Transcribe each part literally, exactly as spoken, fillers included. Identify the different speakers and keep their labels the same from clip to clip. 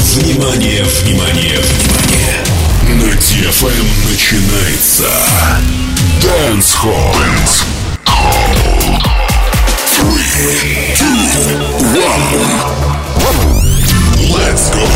Speaker 1: Внимание, внимание, внимание! На ди эф эм начинается Dance Hall. Dance Hall. Three, two, one. Let's go.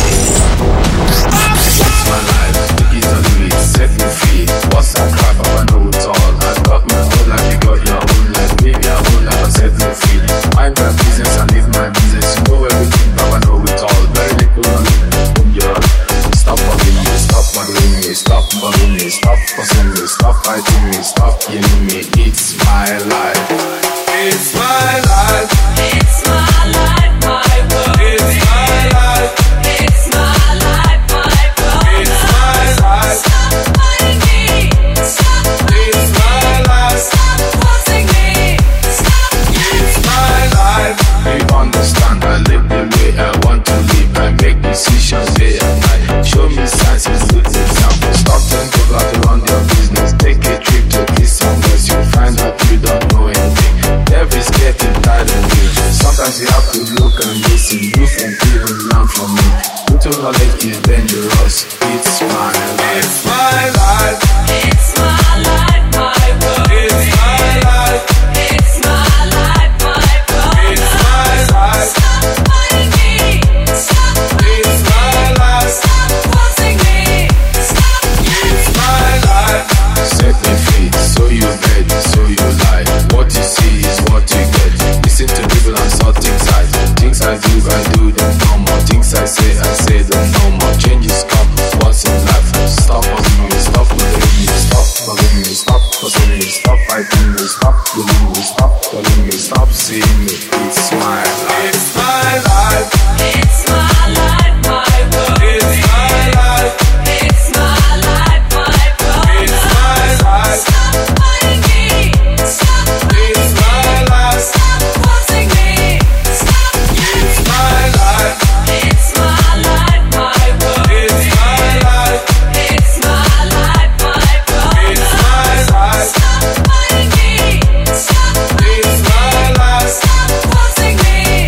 Speaker 2: What's my life? The keys on the beat, set me free. What's that crap? I know it's all. I got my own life, you got your own life. Maybe I own life, I set me free. Mind my business, I live my business. You know everything, but I know it all. Very little knowledge, own your life. Stop bugging me, stop bothering me, stop bugging me, stop fussing me, stop fighting me, stop killing me. It's my life. It's my life.
Speaker 3: It's my life, my world.
Speaker 2: It's my life.
Speaker 3: It's my life, my world.
Speaker 2: It's my life.
Speaker 3: Stop fighting me. Stop
Speaker 2: It's my life.
Speaker 3: Stop forcing me. Stop.
Speaker 2: It's my life. You understand? I live the way I want to live. I make decisions day and night. Show me signs and good examples. Stop telling people how to run their business. Take a trip to this somewhere. You'll find out you don't know anything. Every's getting tired of you. Sometimes you have to look and listen. You can even learn from me. Little knowledge is dangerous. It's my life. It's my life.
Speaker 3: It's my life, my world.
Speaker 2: It's my life.
Speaker 3: It's my life, my world.
Speaker 2: It's my life.
Speaker 3: Stop fighting me. Stop.
Speaker 2: It's my life.
Speaker 3: Stop forcing me. Stop.
Speaker 2: It's my life. Set me free, so you bet, so you lie. What you see is what you get. Listen to people and saw things I Things I do, I do them no more. Things I say, I say them no more. Changes come once in life. Stop bugging me, stop bothering me, stop bugging me, stop fussing me, stop fighting me, stop killing me, stop calling me, stop seeing me. It's my life. It's my life.
Speaker 3: It's my life, my world.
Speaker 2: It's my life.
Speaker 3: It's my life, my world.
Speaker 2: It's my life.
Speaker 3: Stop fighting me. Stop.
Speaker 2: It's my life.
Speaker 3: Stop forcing me. Stop.
Speaker 2: It's my life.
Speaker 3: It's my life, my world.
Speaker 2: It's my life.
Speaker 3: It's my life, my world.
Speaker 2: It's my life.
Speaker 3: Stop fighting me. Stop.
Speaker 2: It's my life.
Speaker 3: Stop forcing me.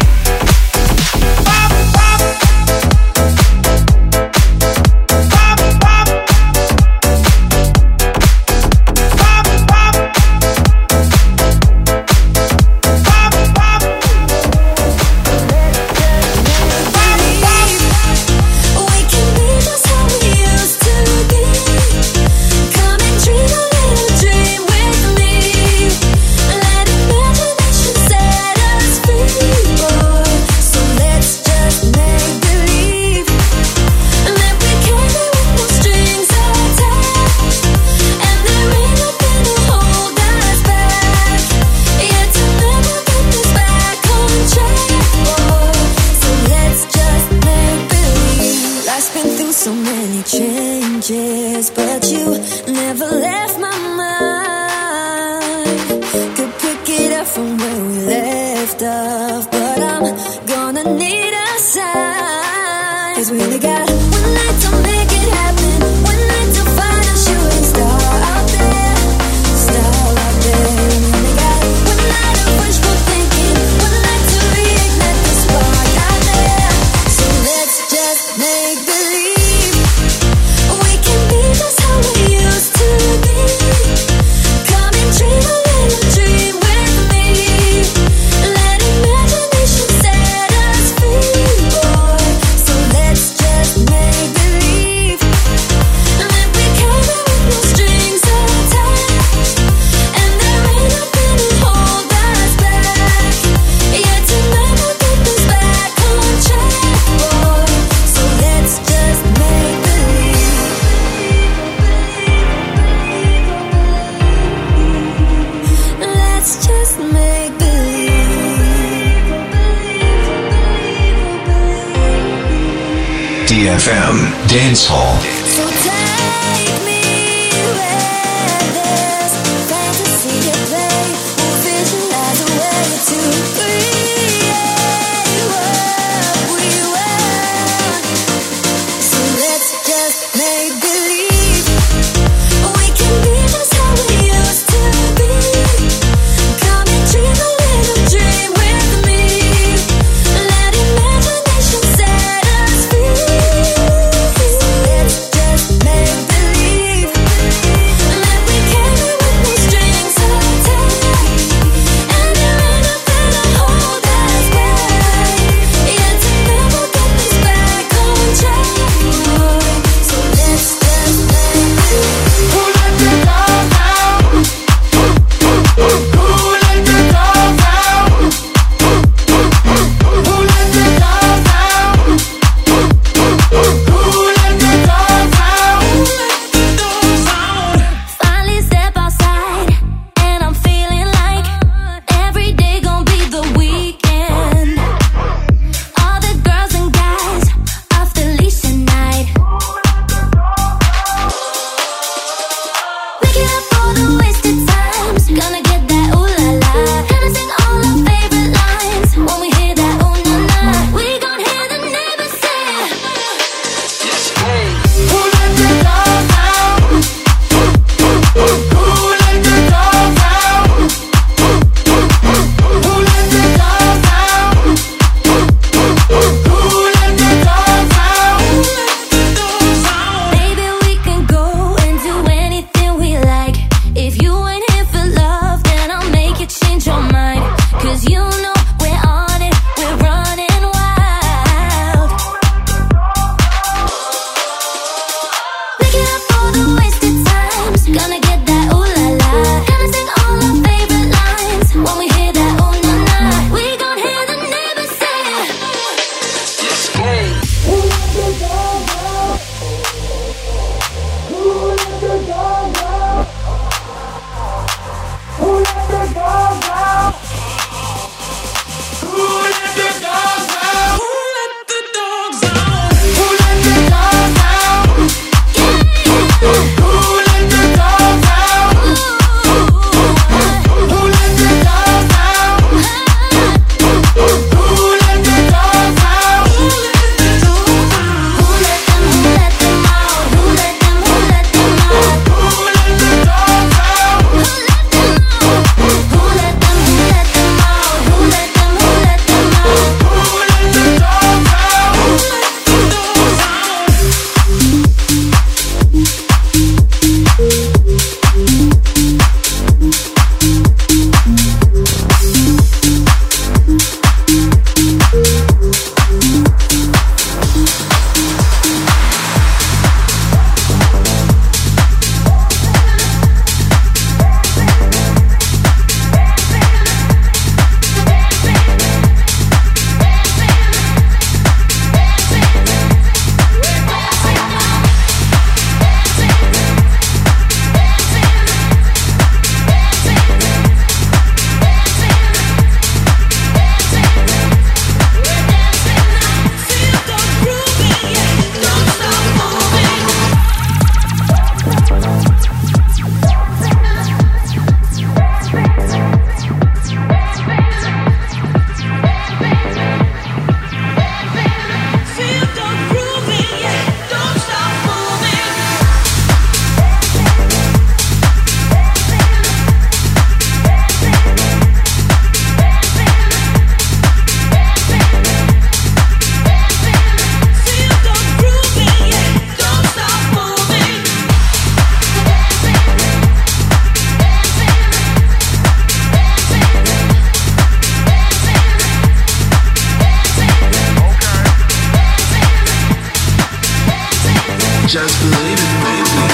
Speaker 2: Pop, pop. Pop, pop. Pop, pop. Pop, pop.
Speaker 4: We can be just how we used to be. Come and dream a little dream with me. Let imagination set us free, boy. So let's just make believe that we can be with no strings attached, and there ain't nothing to hold us back. Yeah, to never get this back on track, boy. So let's just make believe. Life's been through so many changes, but you never left my mind. Could pick it up from where we left off, but I'm gonna need a sign. 'Cause we only got one night to make it happen, one night to find a shooting star out there, star out there. We only got one night of wishful thinking, one night to reignite the spark out there. So let's just make believe we can be just how we used to be. Come and dream a little dream with me. Let imagination set us free, boy. So let's just make believe that we can be with no strings attached, and there ain't nothing to hold us back. Yeah, to never get this back on track, boy. So let's just make believe. Let's just make believe.
Speaker 1: D F M Dance Hall.
Speaker 4: So take me where there's fantasy at play. We'll visualize a way to create what we want. So let's just make believe we can be just how we used to be. Come and dream a little dream with me. Let imagination set us free.
Speaker 2: Just believe it, baby.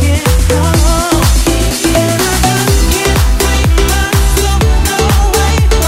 Speaker 5: Away.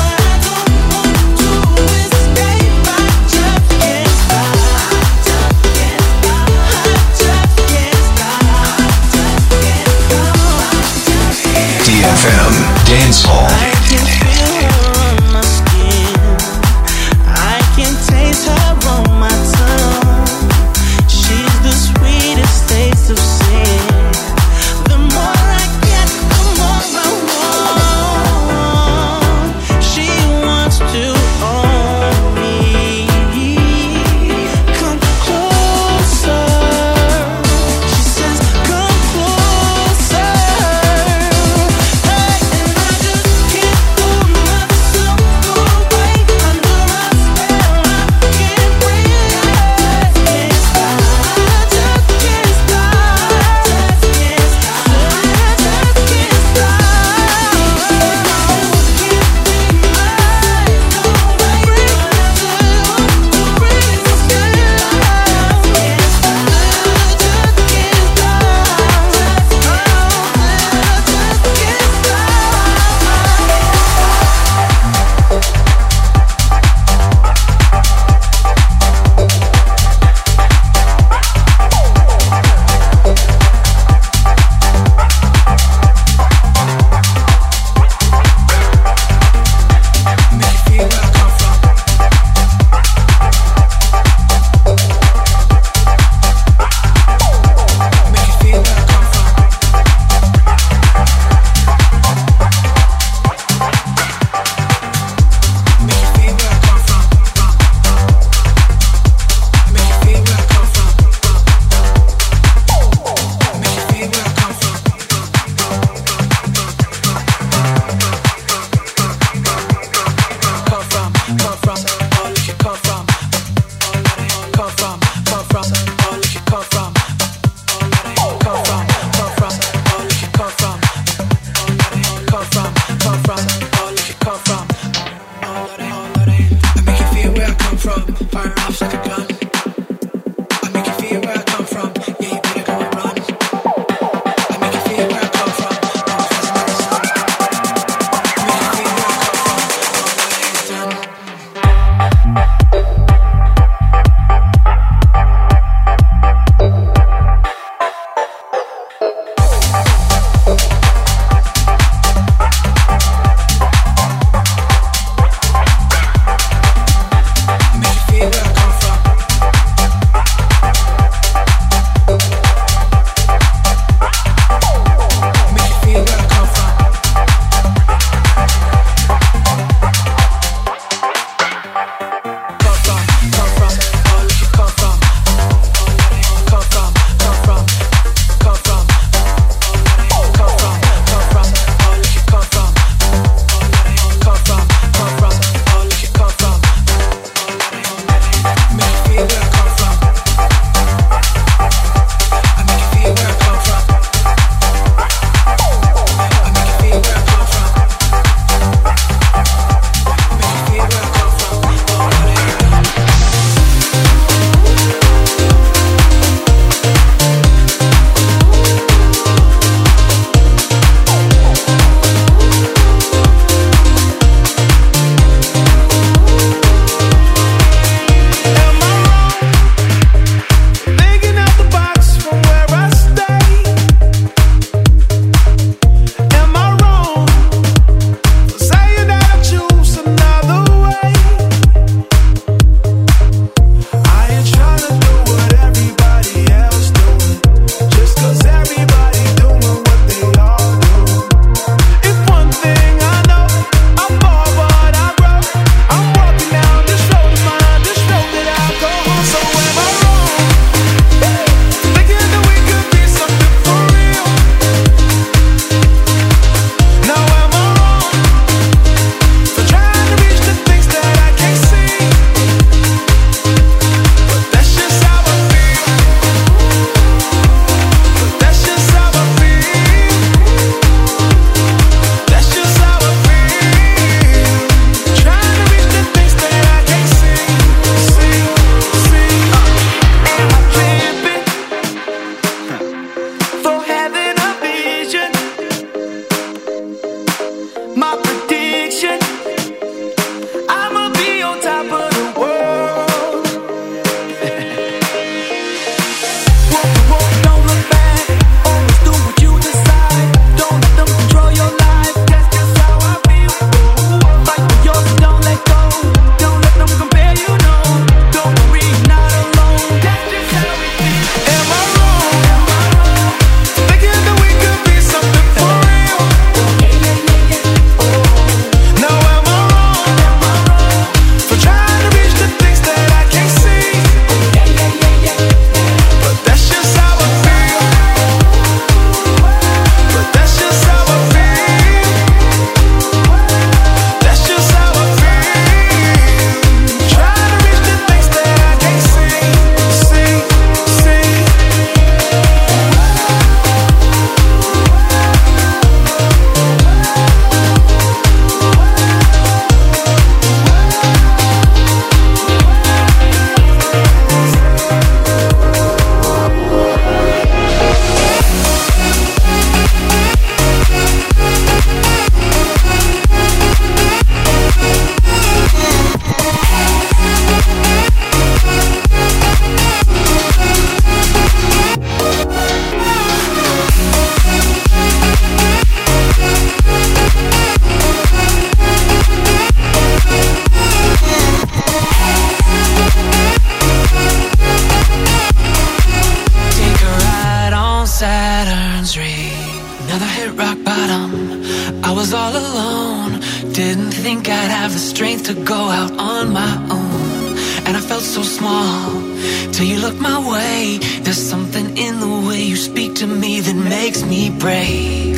Speaker 5: was all alone. Didn't think I'd have the strength to go out on my own. And I felt so small till you looked my way. There's something in the way you speak to me that makes me brave.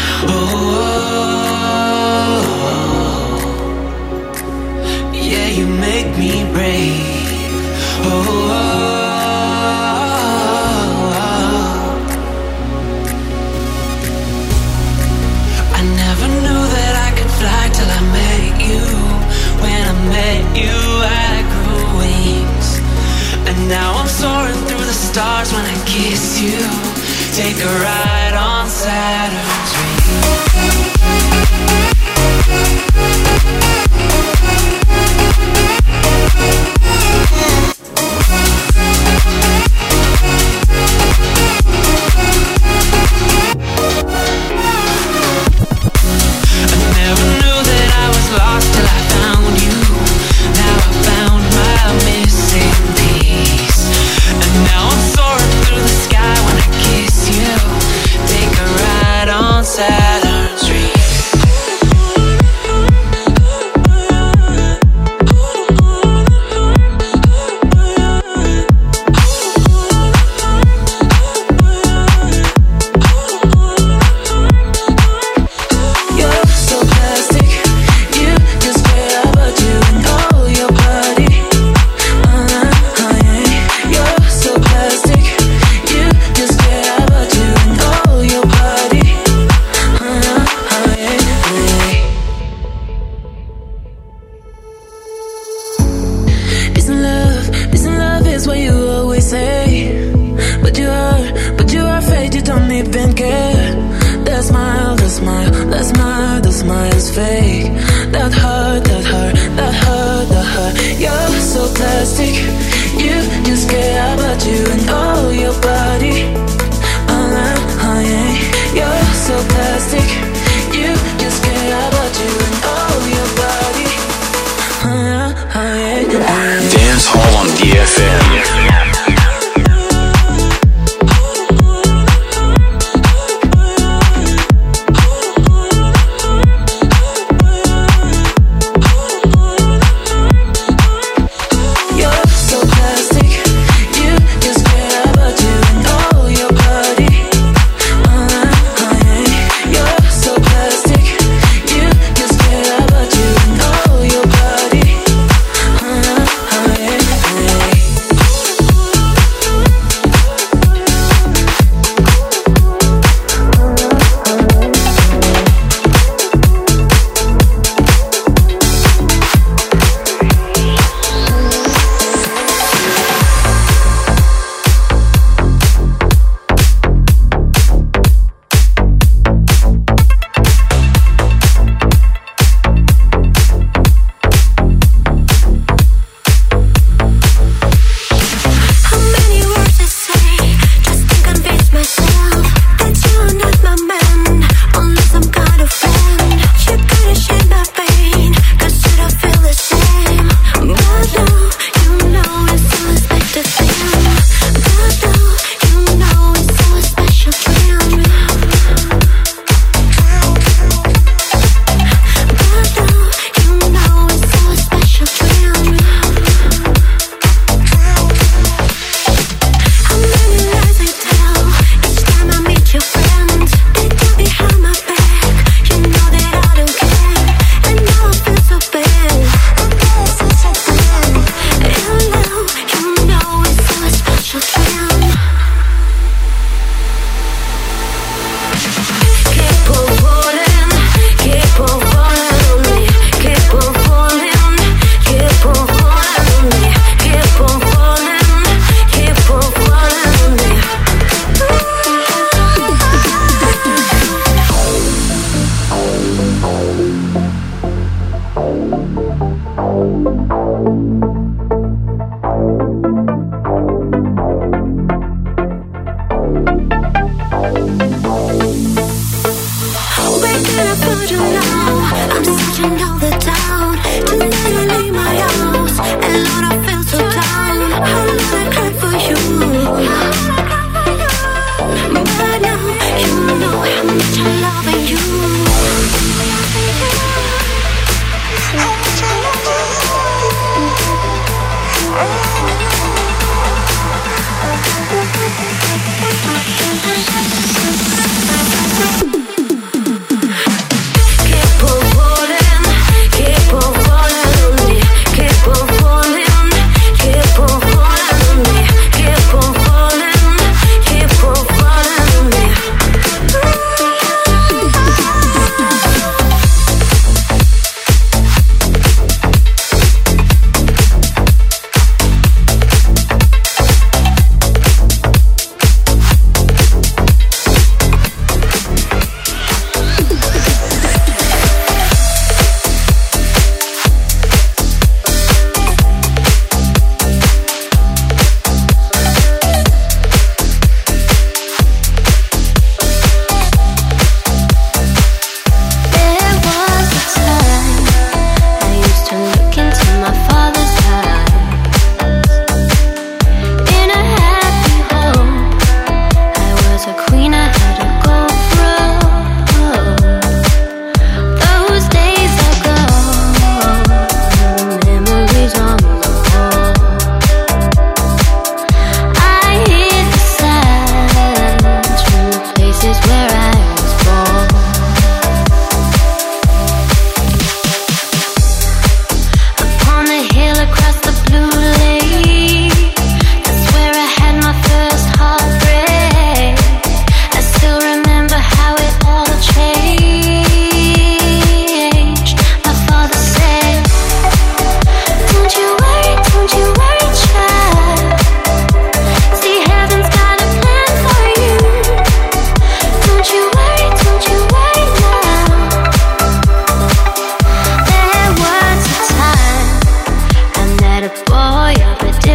Speaker 5: Oh, yeah, you make me brave. Oh, I never knew that I could fly till I met you. When I met you, I grew wings. And now I'm soaring through the stars when I kiss you. Take a ride on Saturn's rings. Lost till I found you. Now I found my missing piece. And now I'm soaring through the sky when I kiss you. Take a ride on Saturn's rings.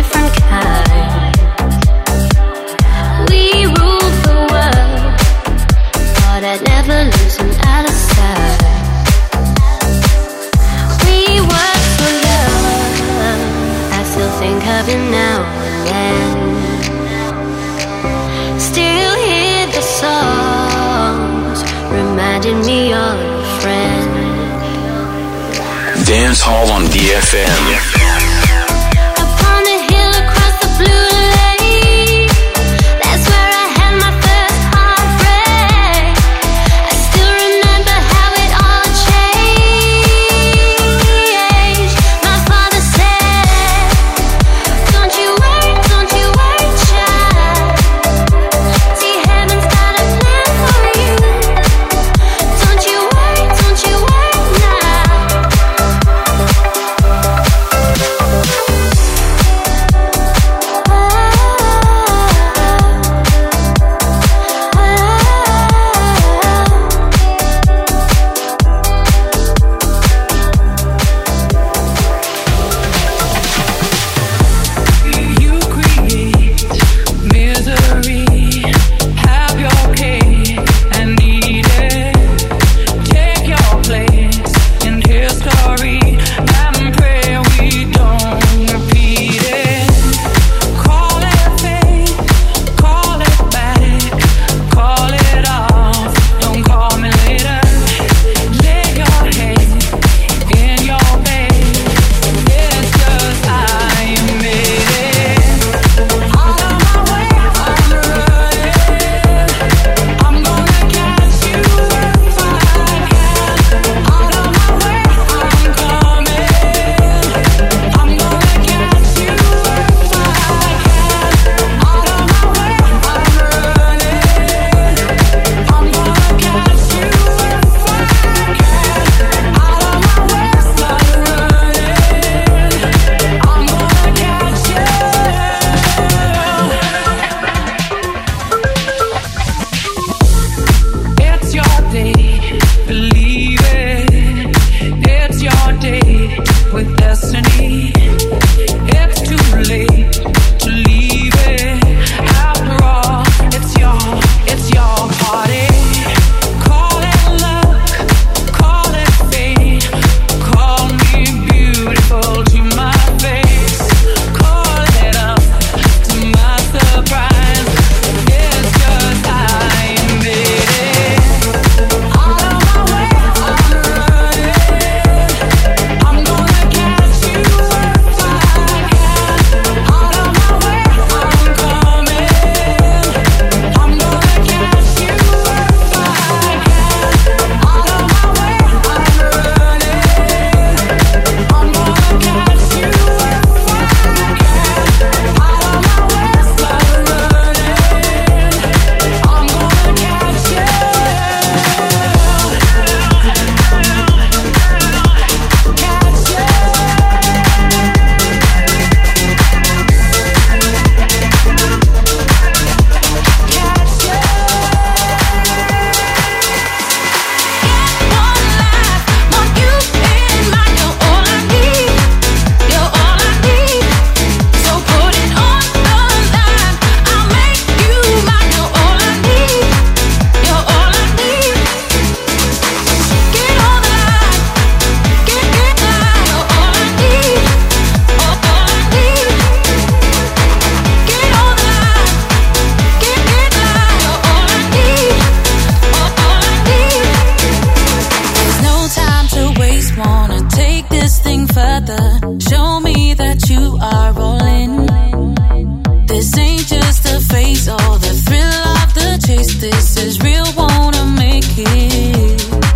Speaker 4: different kind. We rule the world, but I'd never lose them out of sight. We work for love, I still think of you now and then. Still hear the songs reminding me of a friend.
Speaker 1: Dance Hall on D F M.
Speaker 4: Upon the hill across the blue lake, that's where I had my first heartbreak. I still remember how it all changed. My father said, don't you worry, don't you worry, child. See, heaven's got a plan for you. Don't you worry, don't you worry now.
Speaker 5: You create misery, have your cake and eat it. Take your place in history and pray we don't repeat it. Call it fate, call it back, call it off. Don't call me later. Lay your head in your bed. It's just I made it. Out of my way, I'm running. I'm gonna catch you if I can. Out of my way, I'm coming. I'm gonna catch you if I can. Out of my way, I'm running. I'm gonna catch you if I can. Out of my way, start running. I'm gonna catch you. It's your day, believe it. It's your day with destiny. It's too late to leave it. After all, it's your, it's your party. Call it luck, call it fate. Call me beautiful to my face. Call it up to my surprise. It's just I made it. Out of my way, I'm running. I'm gonna catch you if I can. Out of my way, I'm coming. I'm gonna catch you if I can. Out of my way, I'm running. I'm gonna catch you if I can. Out of my way, start running. I'm gonna catch you. There's no time to waste, wanna take this thing further. Show me that you are all in. This ain't just a phase or the thrill of the chase. This is real, wanna make it.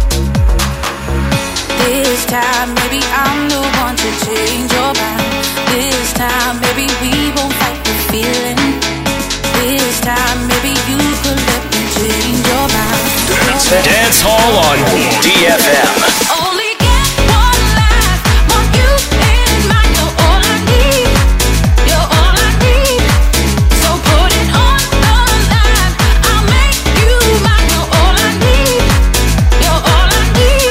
Speaker 5: This time, maybe I'm the one to change your mind. This time, maybe we won't fight the feeling. This time, maybe you could let me change your mind.
Speaker 6: Dance Hall on D F M.
Speaker 5: Only get one life, want you in mind. You're all I need, you're all I need. So put it on the line. I'll make you mine. You're all I need, you're all I need.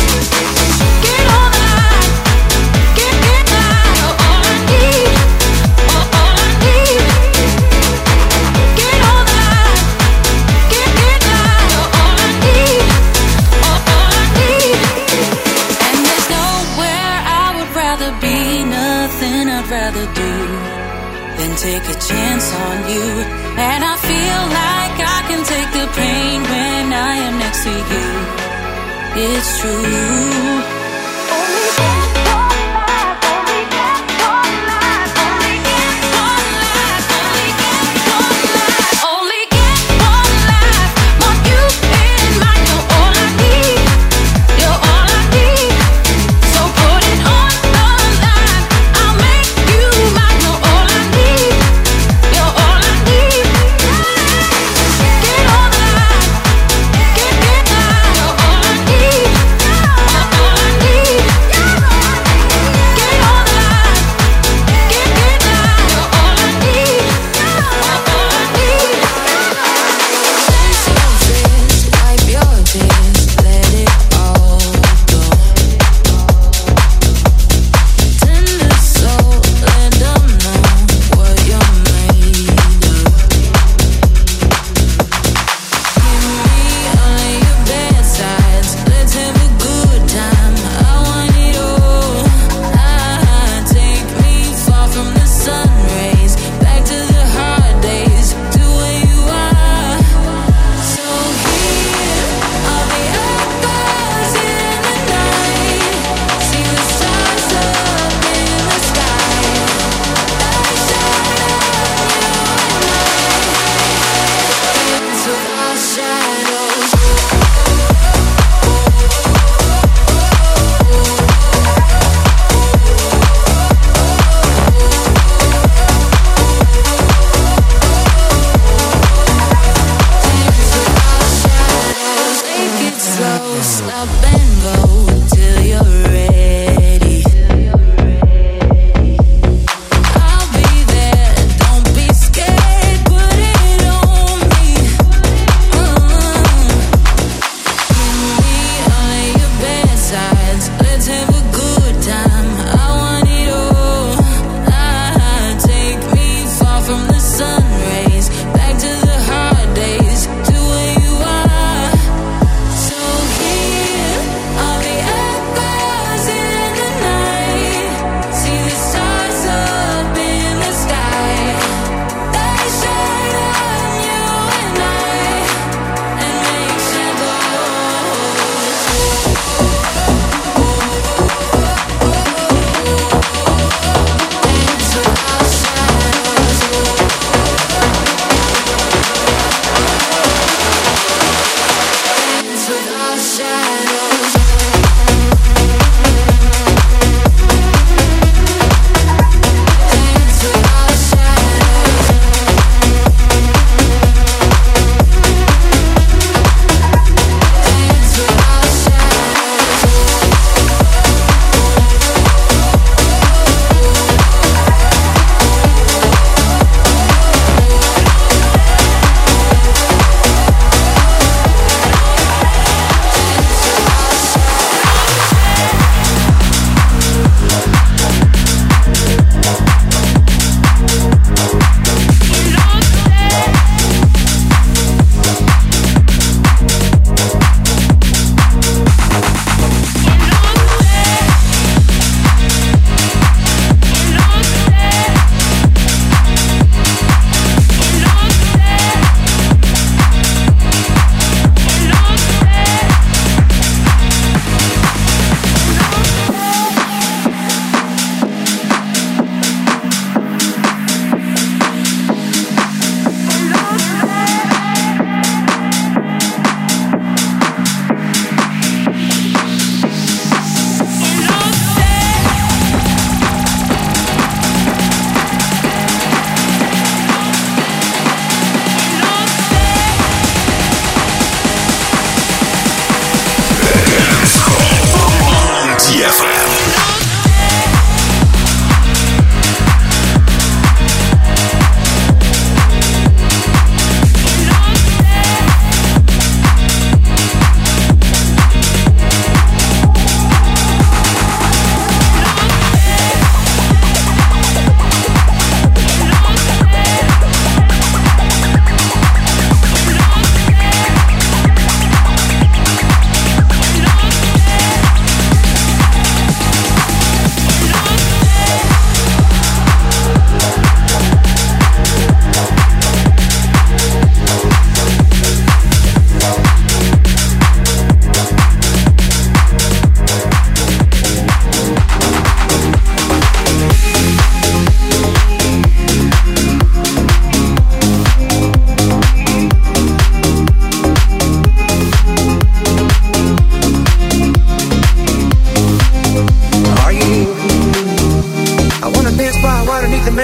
Speaker 5: Get on the line, get get line. You're all I need.
Speaker 7: I'd rather do than take a chance on you. And I feel like I can take the pain when I am next to you. It's true. Only get one life, only get one life, only get one life, only get one life, only get one life. Want you in mind, you're all I need, you're all I need. So put it on the line, I'll make you mine. You're all I need, you're all I need. Get on the line, get get line. You're all I need, you're all I need.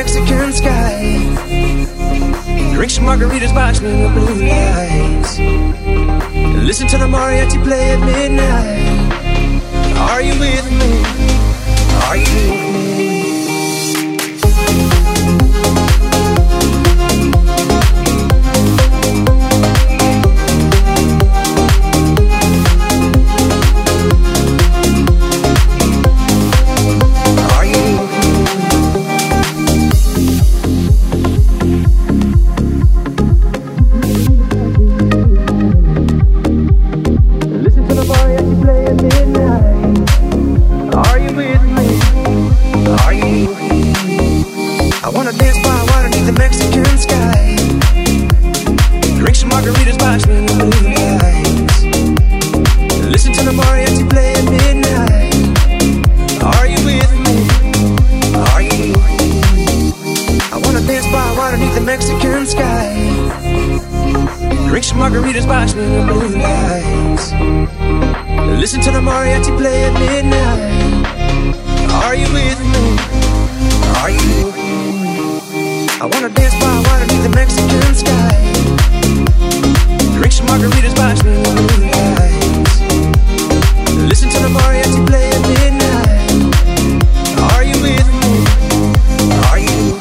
Speaker 8: Mexican sky. Drink some margaritas, watching the blue lights. Listen to the mariachi play at midnight. Are you with me? Are you with me? Margaritas watching the blue lights. Listen to the mariachi play at midnight. Are you with me? Are you with me? I wanna dance by water beneath the Mexican sky. Drink some margaritas watching the blue lights. Listen to the mariachi play at midnight. Are you with me? Are you with me?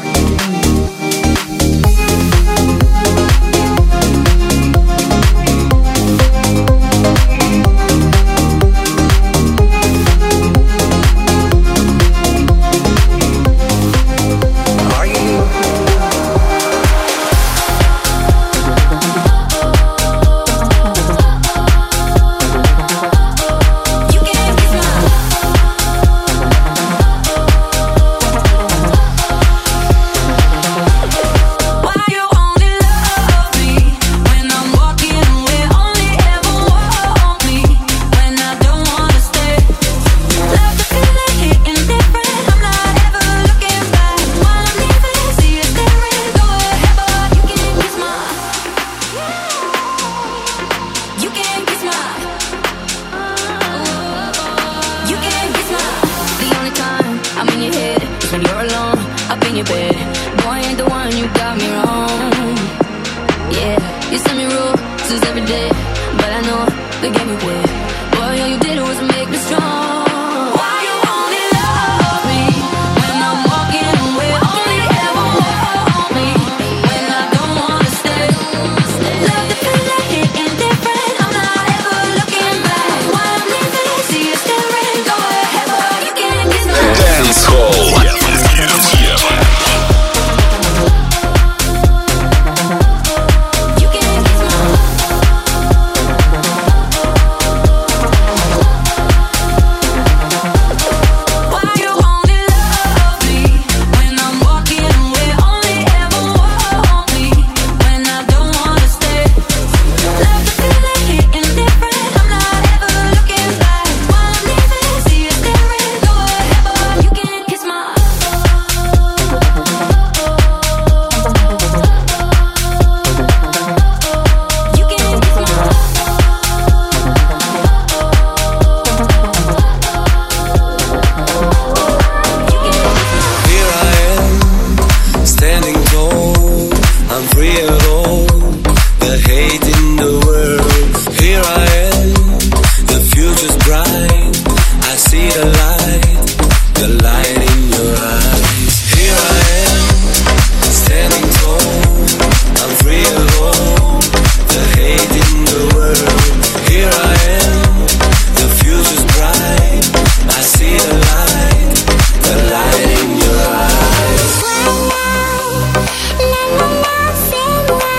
Speaker 4: Say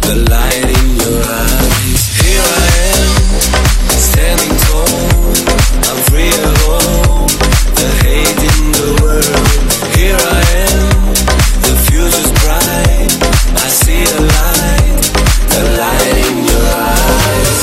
Speaker 8: the light in your eyes. Here I am, standing tall. I'm free alone, the hate in the world. Here I am, the future's bright. I see the light, the light in your eyes.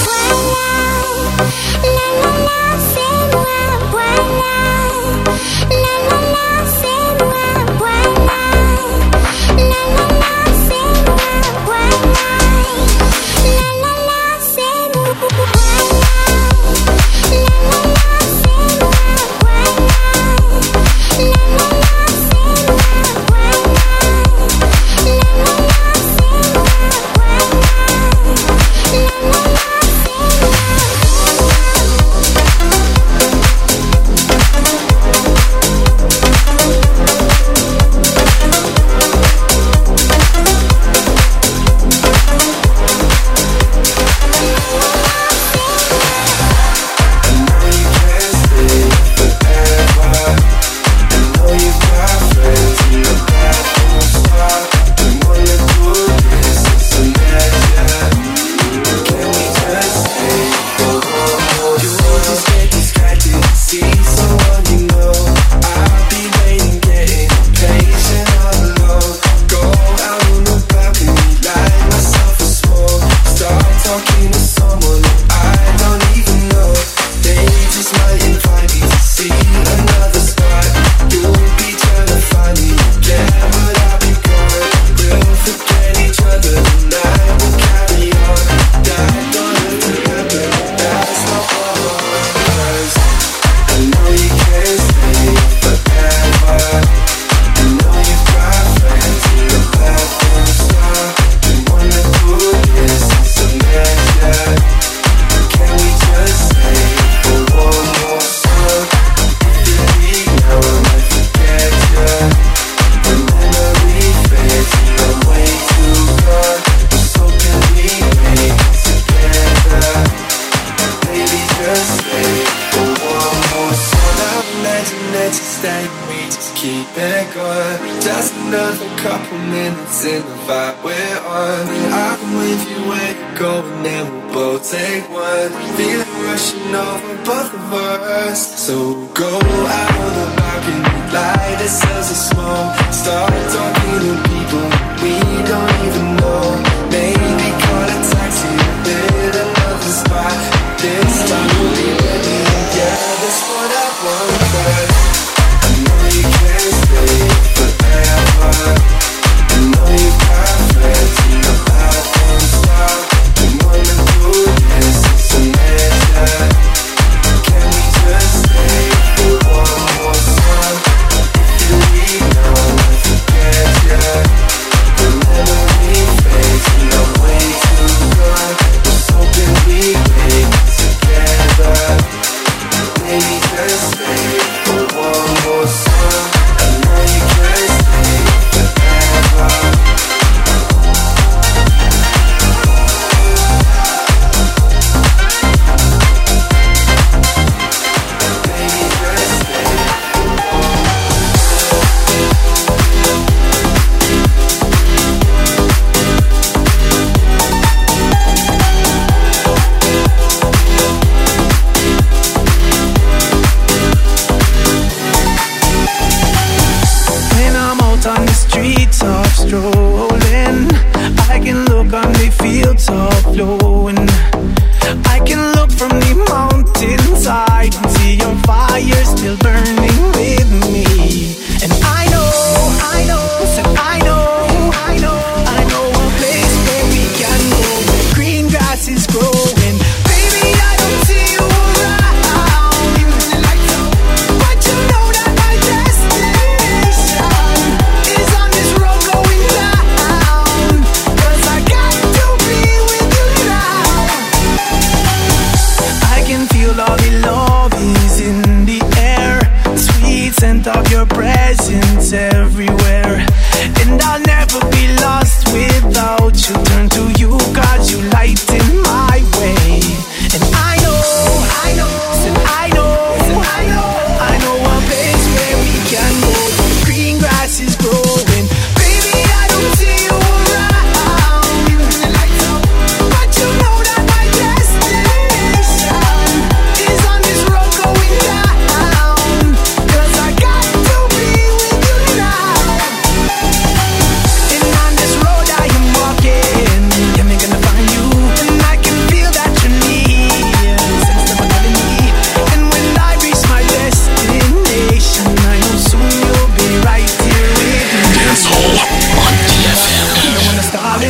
Speaker 9: Of your presence everywhere, and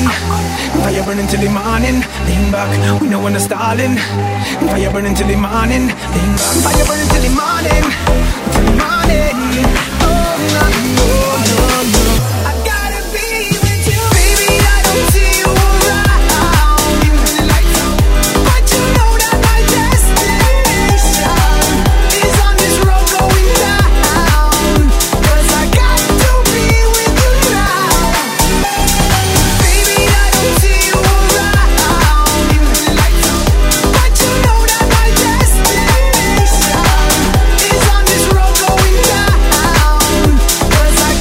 Speaker 8: Fire burning till the morning. Lean back, we know when the stalling. Fire burning till the morning. Lean back, fire burning till the morning. Till the morning. Oh no, no, no, no. I gotta be with you, baby. I don't see you around. Even when the lights out, but you know that my destination is on this road going down. 'Cause I got to be with you now. Baby, I don't see you around. Even when the lights out, but you know that my destination is on this road going down. 'Cause I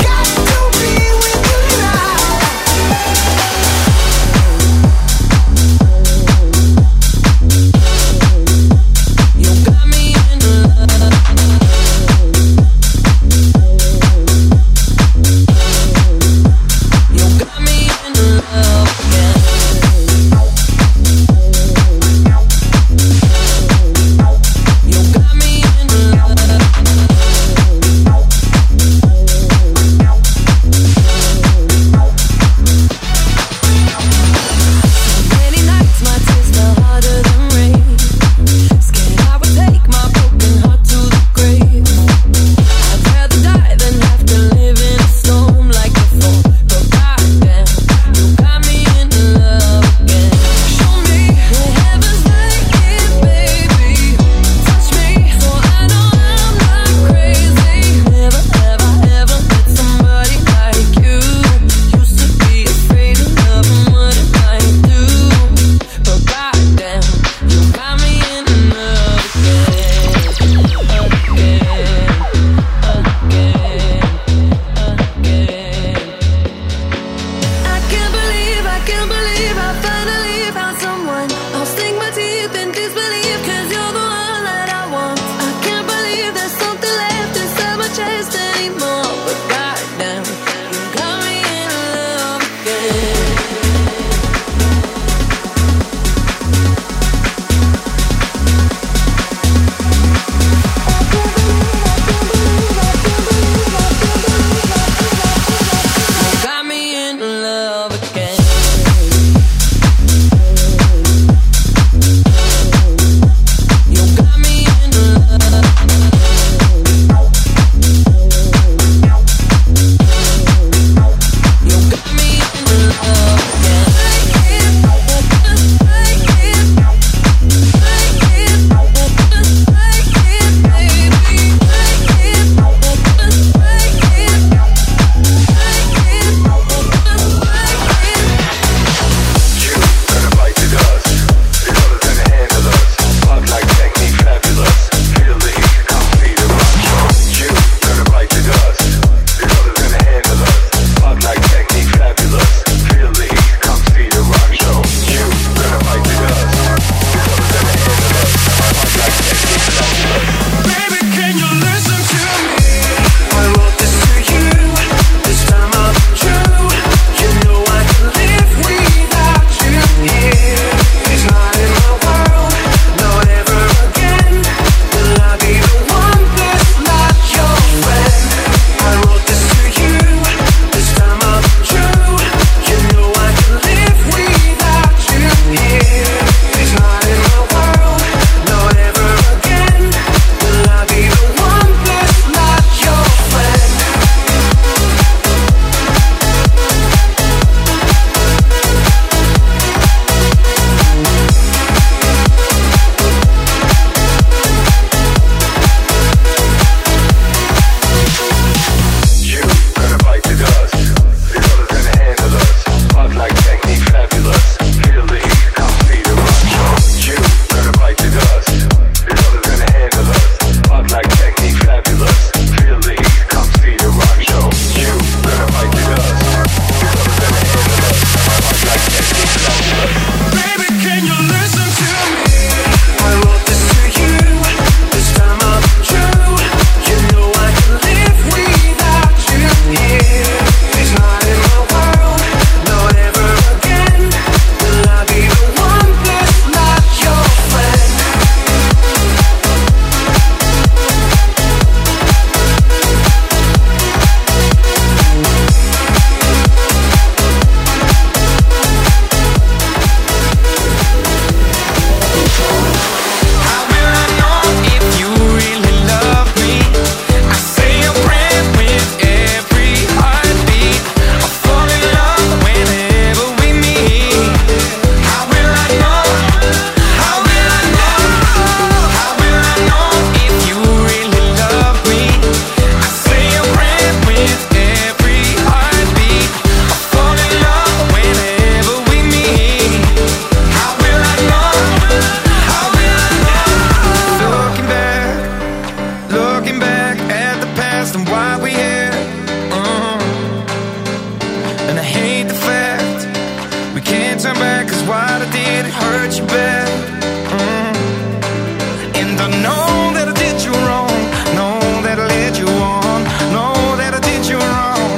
Speaker 8: 'cause what I did, it hurt you bad. Mm. And I know that I did you wrong, know that I led you on, know that I did you wrong.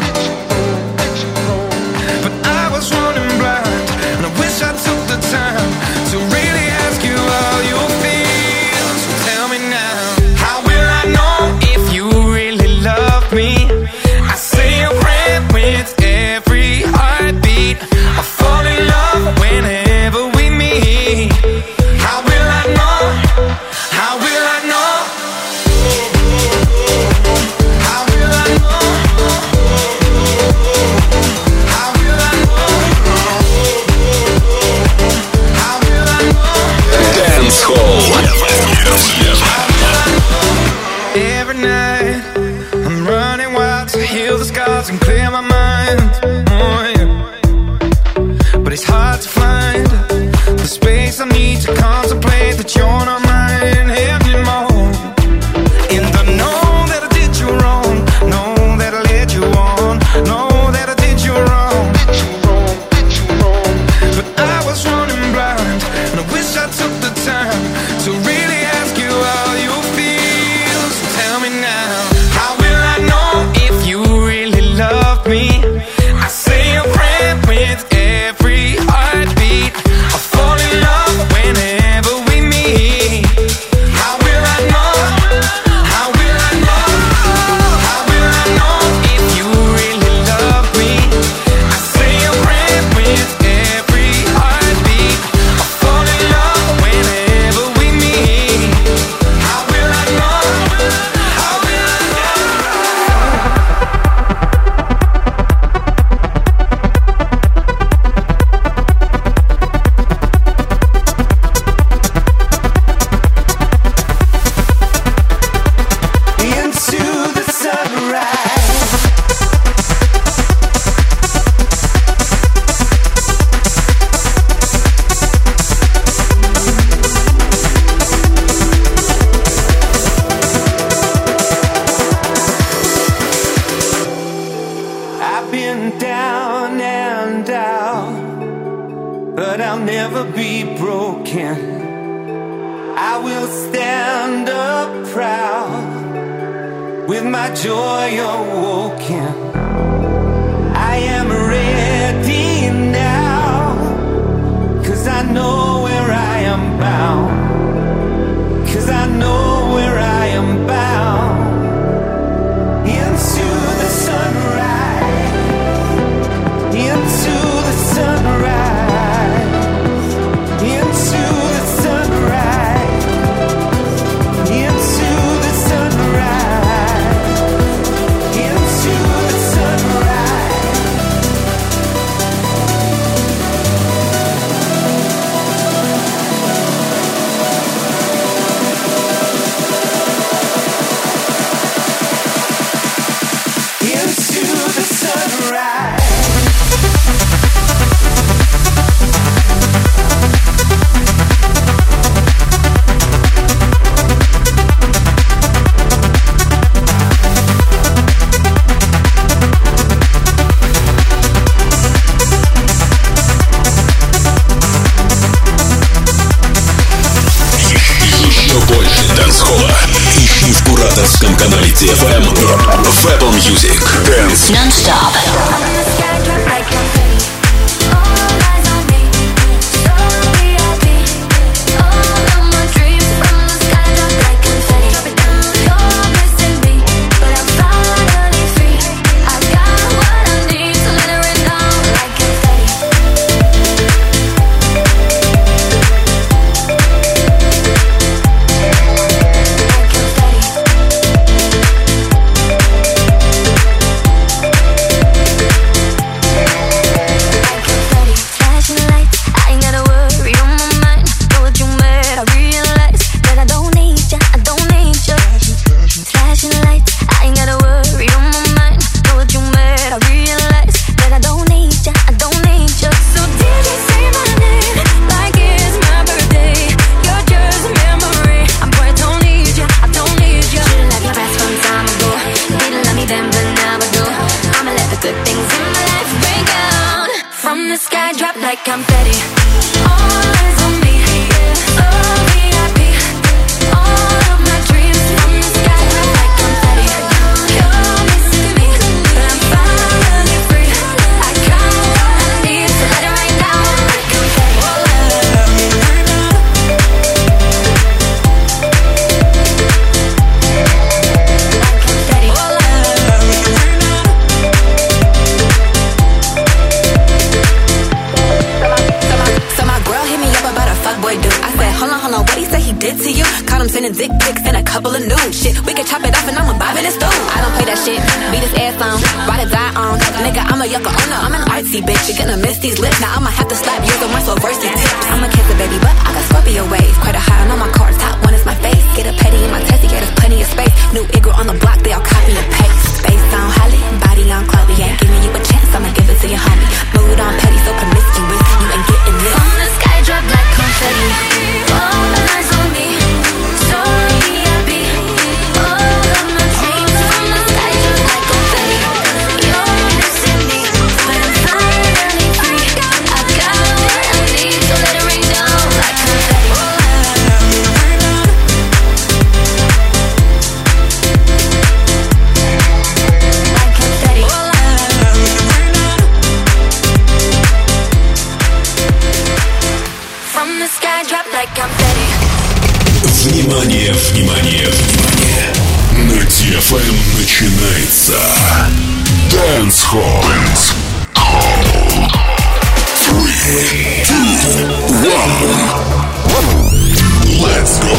Speaker 8: But I was running blind, and I wish I took the time to really ask you how you feel. So tell me now, how will I know if you really love me? I say a prayer with every heartbeat. I fall in love whenever we meet. How will I know? How will I know? How will I know? How will I know? How will I know?
Speaker 6: Dance Hall.
Speaker 8: Every night I'm running wild to heal the scars and clear my mind. Oh, yeah. But it's hard to find the space I need to contemplate that you're not mine anymore. And I know that I did you wrong, know that I led you on, know that I did you wrong. But I was running blind, and I wish I took the time to really ask you how you feel. So tell me now, how will I know if you really love me? I say a prayer with every heartbeat. I fall in love whenever we meet. How will I know? How will I know? How will I know if you really love me? I say a prayer with every heartbeat. I fall in love whenever we meet. How will I know? How will I know? Into the sunrise. I've been down and out, but I'll never be broken. I will stand up proud with my joy awoken. I am ready now, 'cause I know where I am bound. 'Cause I know where I am bound. Into the sunrise. Into the sunrise. Into the sunrise. Into the sunrise. Into the sunrise. Into the sunrise.
Speaker 6: Еще больше дэнс-холла. Ищи в кураторском канале ти эф эм и в Apple Music. Dance
Speaker 7: Non-stop.
Speaker 4: Like
Speaker 9: Yoko Ono, I'm an artsy bitch. You're gonna miss these lips. Now I'ma have to slap yours on my so versy tips. I'm a kisser, baby, but I got Scorpio waves. Quite a high on all my cards, top one is my face. Get a petty in my testy, get us plenty of space. New Igor on the block, they all copy and paste. Face on Holly, body on Chloe. Ain't giving you a chance, I'ma give it to your homie. Mood on petty, so promiscuous, you ain't getting this.
Speaker 4: From the sky drop like confetti. All the eyes on me, so V I P. All of my dreams from the sky drop like confetti. You're missing me when I'm finally free. I got what I need, so let it rain down like confetti. Like confetti. From the sky drop like confetti.
Speaker 6: Внимание, внимание, внимание! На ди эф эм начинается Dance Hall. Three, two, one. Let's go.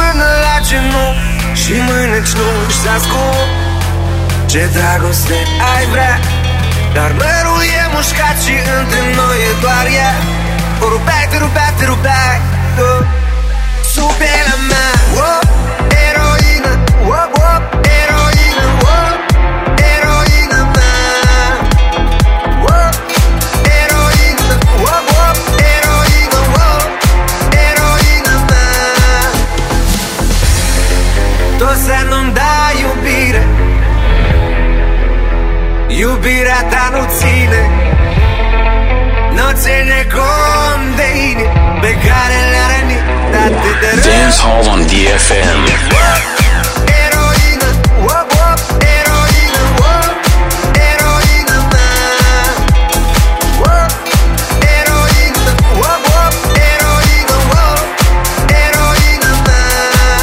Speaker 8: Și mâine-ți nu-și ascult Ce dragoste vrea, dar mărul e mușcat și între noi e doar ea. O rupeai, te rupeai, te rupeai tu sub pielea mea. Oh, eroină, oh, oh, eroină, oh, eroină mea. Oh, eroină, oh, oh, eroină, oh, eroină mea. Tot să nu-mi dai iubire, iubirea ta nu ține, nu ține cont de inimi pe care le-a rănit atât de rău.
Speaker 1: Dance Hall on D F M.
Speaker 8: Eroină, oh, oh, eroină, oh, eroină mea. Oh, eroină, oh, oh, eroină, oh, eroină mea.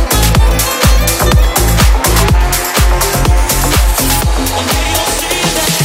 Speaker 5: You'll see that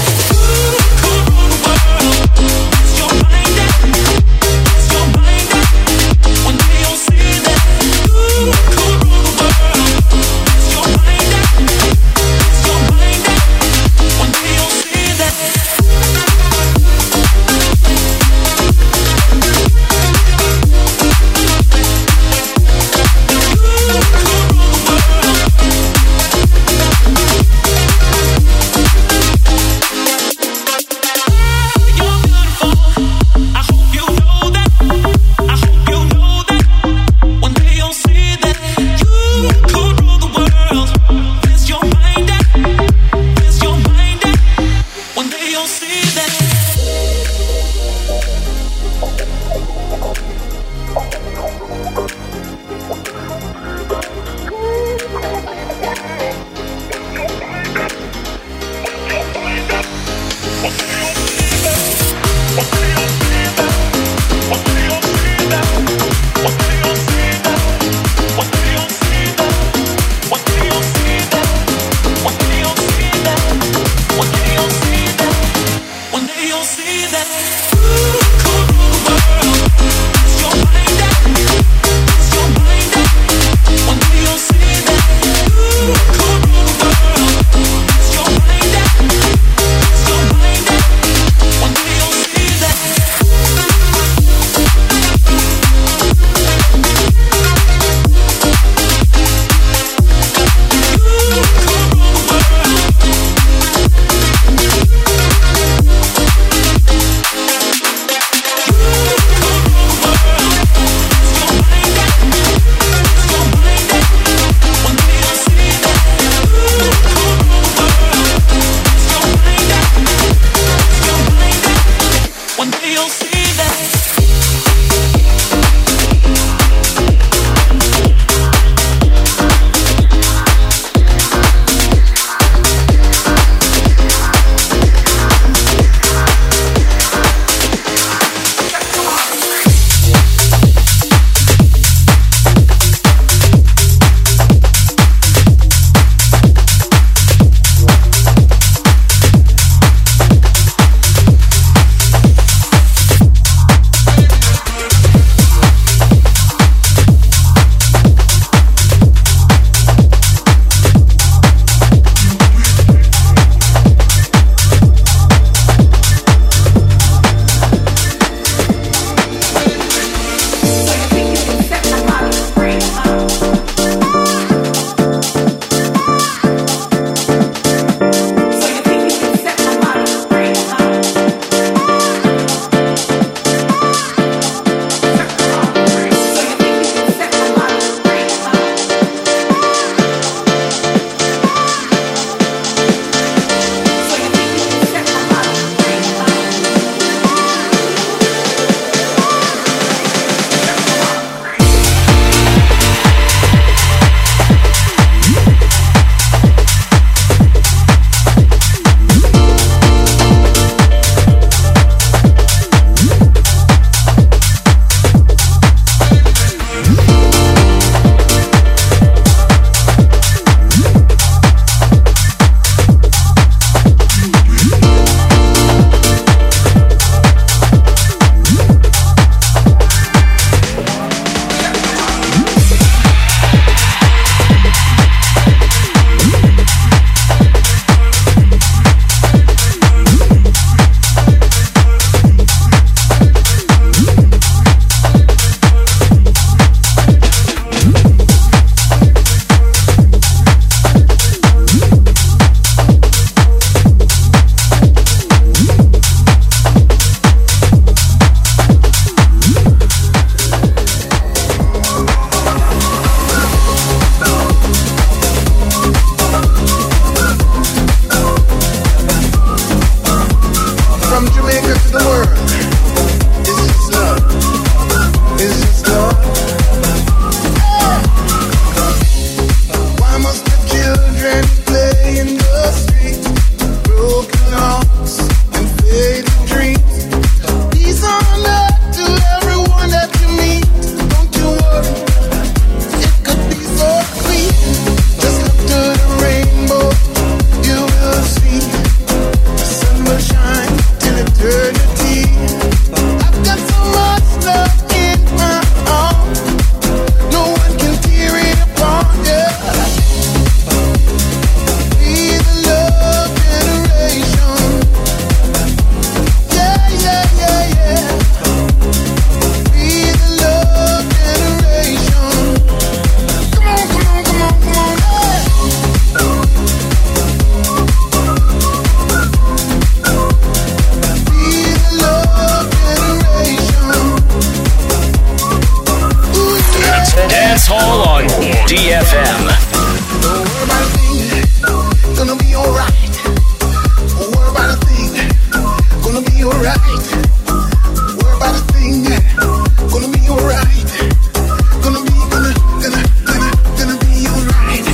Speaker 1: All on D F M.
Speaker 10: Don't worry about a thing, gonna be alright. Don't worry about a thing, gonna be alright. Worry about a thing, gonna be alright. Gonna be, gonna, gonna, gonna, gonna be alright.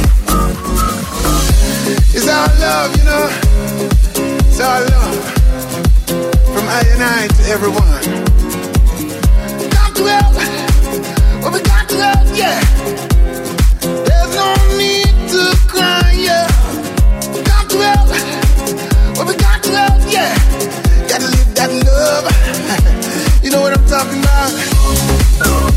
Speaker 10: It's our love, you know. It's our love. From I and I to everyone. We got to help. Well, we got to help, yeah. There's no need to cry, yeah. We got to help. Well, we got to help, yeah. Gotta live that love. You know what I'm talking about?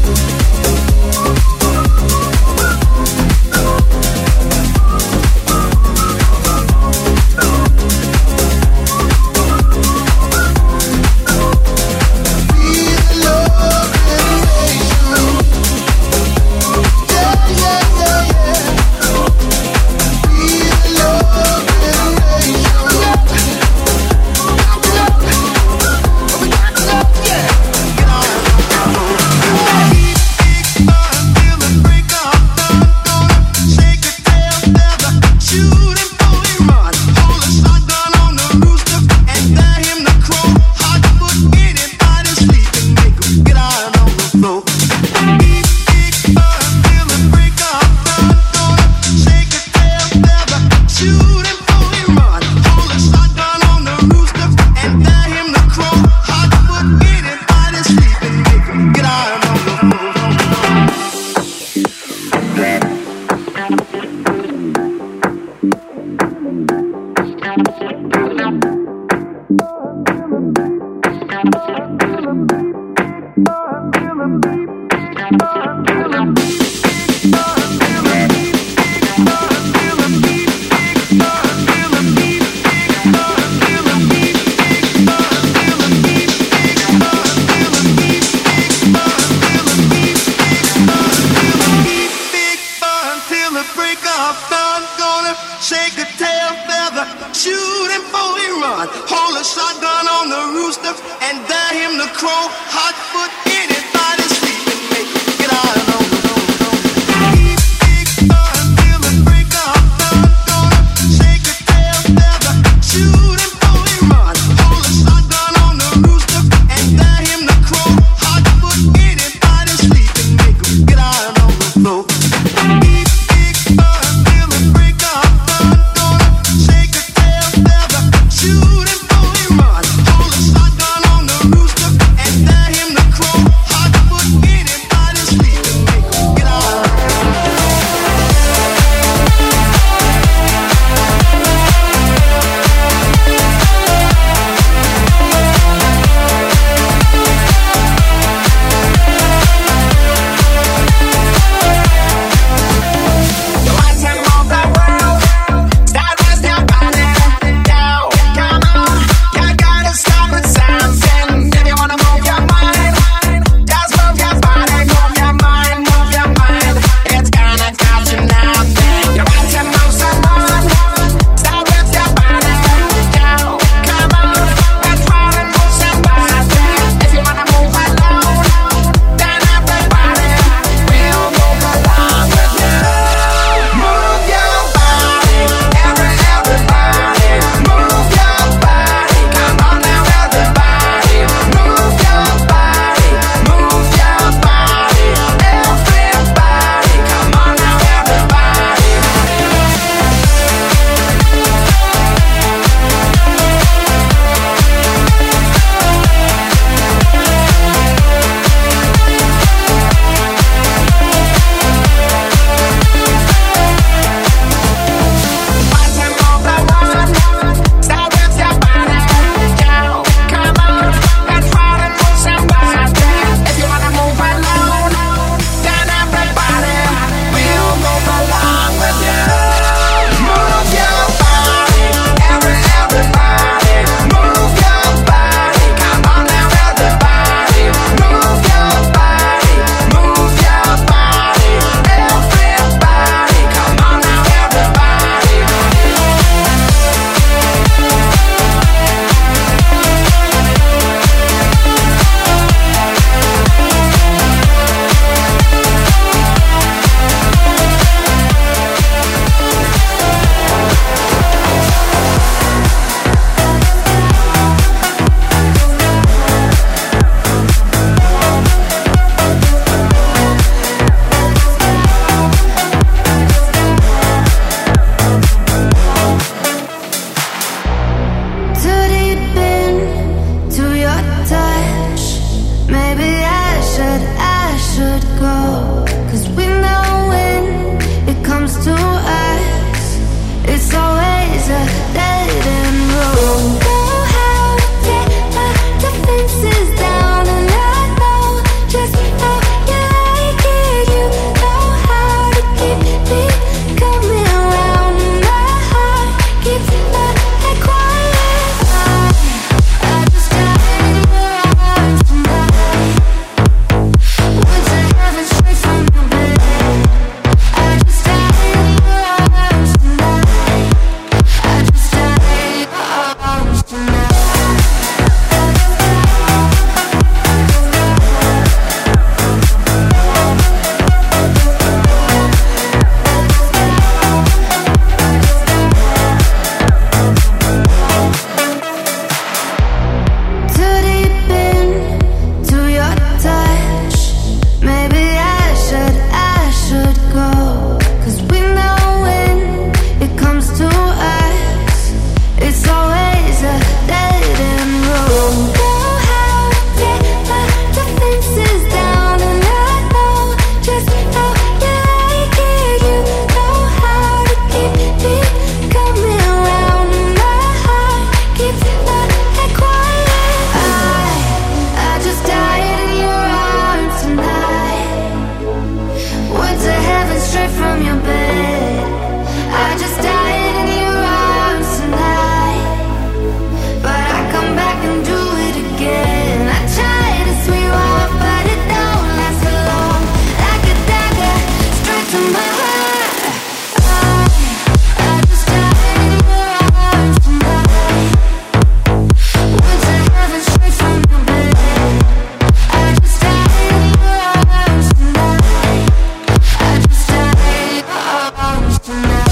Speaker 4: from your bed. I just died in your arms tonight, but I come back and do it again. I try to swing off, but it don't last for long. Like a dagger, straight to my heart. I, I just died in your arms tonight. Went to heaven straight from your bed. I just died in your arms tonight. I just died in your arms tonight.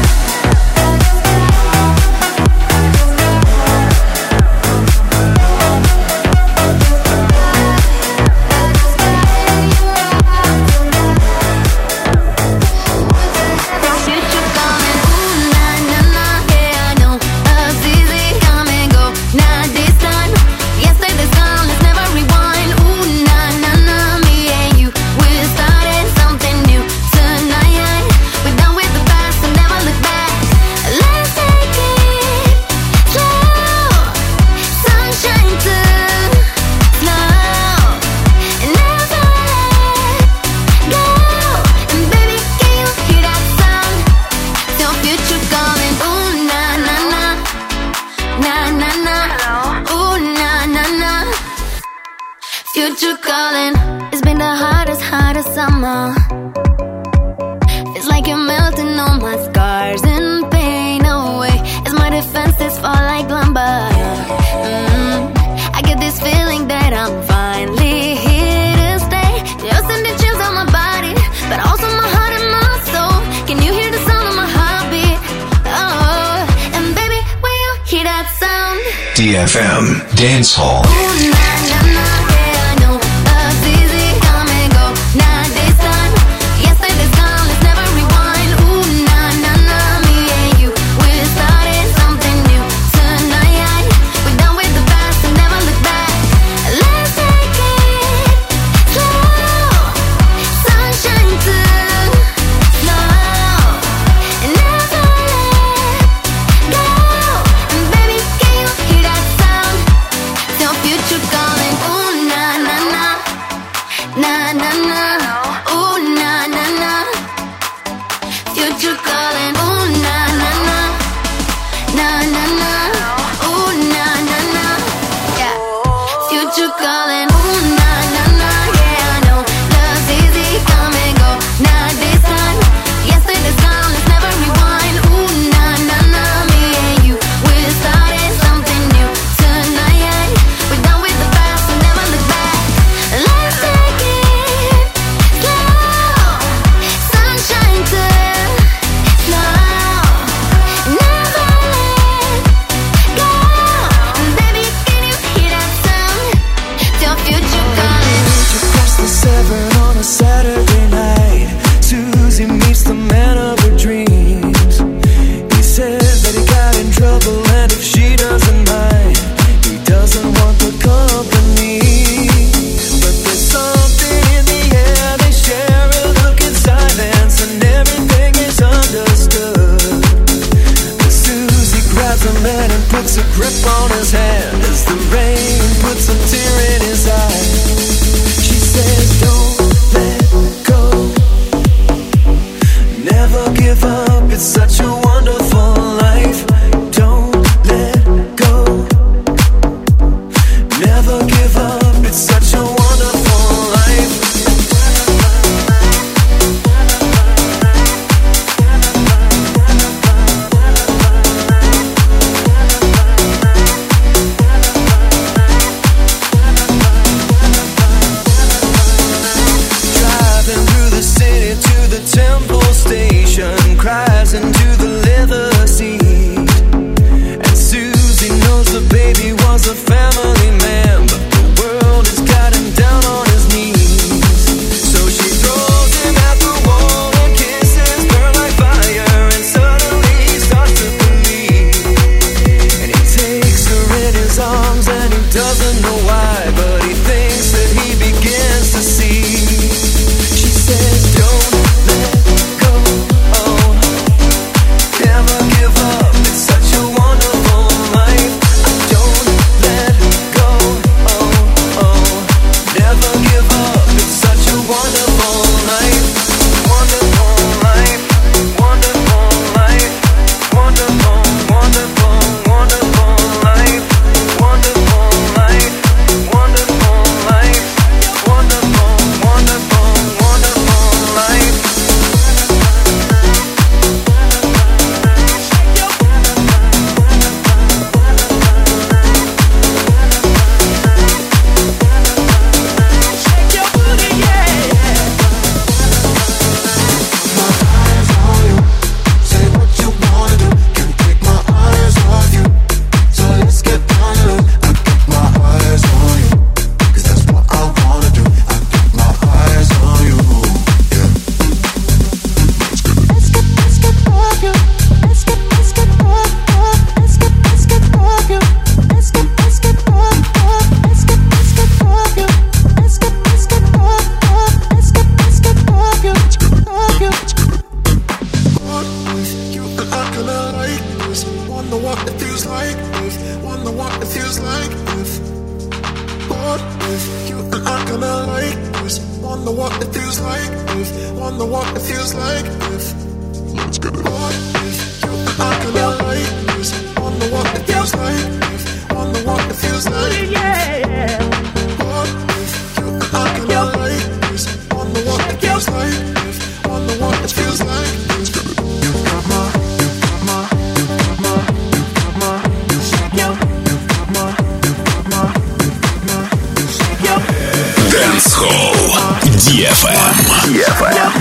Speaker 4: Future coming, ooh, nah, nah, nah, yeah, I know. Love's easy, come and go, not this time. Yesterday's gone, let's never rewind. Ooh, nah, nah, nah, me and you, we're starting something new tonight. We're done with the past and never look back. Let's take it slow, sunshine too slow, and never let go. And baby, can you hear that sound? Your future calling, ooh, nah, nah, nah, nah, nah, nah, ooh, nah, nah, nah. Future calling. It's been the hottest, hottest summer. It's like you're melting all my scars and pain away. As my defenses fall like lumber. Mm, I get this feeling that I'm finally here to stay. You're sending chills on my body, but also my heart and my soul. Can you hear the sound of my heartbeat? Oh, and baby, when you hear that sound,
Speaker 6: D F M Dance Hall.
Speaker 4: ooh, nah, nah, nah, yeah, I know. Love's easy, come and go, not this time. Yesterday's gone, let's never rewind. Ooh, nah, nah, nah, me and you, we're starting something new tonight. We're done with the past and never look back. Let's take it slow, sunshine too slow, and never let go. And baby, can you hear that sound? Your future calling, ooh, nah, nah, nah, nah, nah, nah, ooh, nah, nah, nah. Future calling, ooh, nah, nah, nah, nah, nah, nah, ooh, nah, nah, nah. Yeah, future calling, ooh, nah, nah, nah, yeah, I know. Love's easy, come and go, not this time. Yesterday's gone, let's never rewind. Ooh, nah, nah, nah, me and you, we're starting something new tonight. We're done with the past and never look back. Let's take it slow, sunshine too slow, never let go. And baby, can you hear that sound? Your future calling.
Speaker 8: Across the seven on a Saturday night, Susie meets the man of her dreams. He says that he got in trouble, and if she doesn't mind, he doesn't want the company. But there's something in the air, they share a look in silence, and everything is understood. But Susie grabs a man and puts a grip on his hand as the rain puts a tear in his eye. She says, don't let go, never give up, it's such a wonderful life. Don't let go, never give up, it's such a wonderful life. Driving through the city to the temple station, cries into
Speaker 10: Wonder what it feels like if. Wonder what it feels like if. Let's get it. What if you and I can like this? Wonder what it feels like if. Wonder what it feels like. Yeah. What if you and I can like this? Wonder what it feels like if. Wonder what it feels like. Let's get it. You got my, you got my, you got my, you got my. Shake your, you got my, you got my, you got my. Shake your.
Speaker 6: Dance Hall ди эф эм. ди эф эм.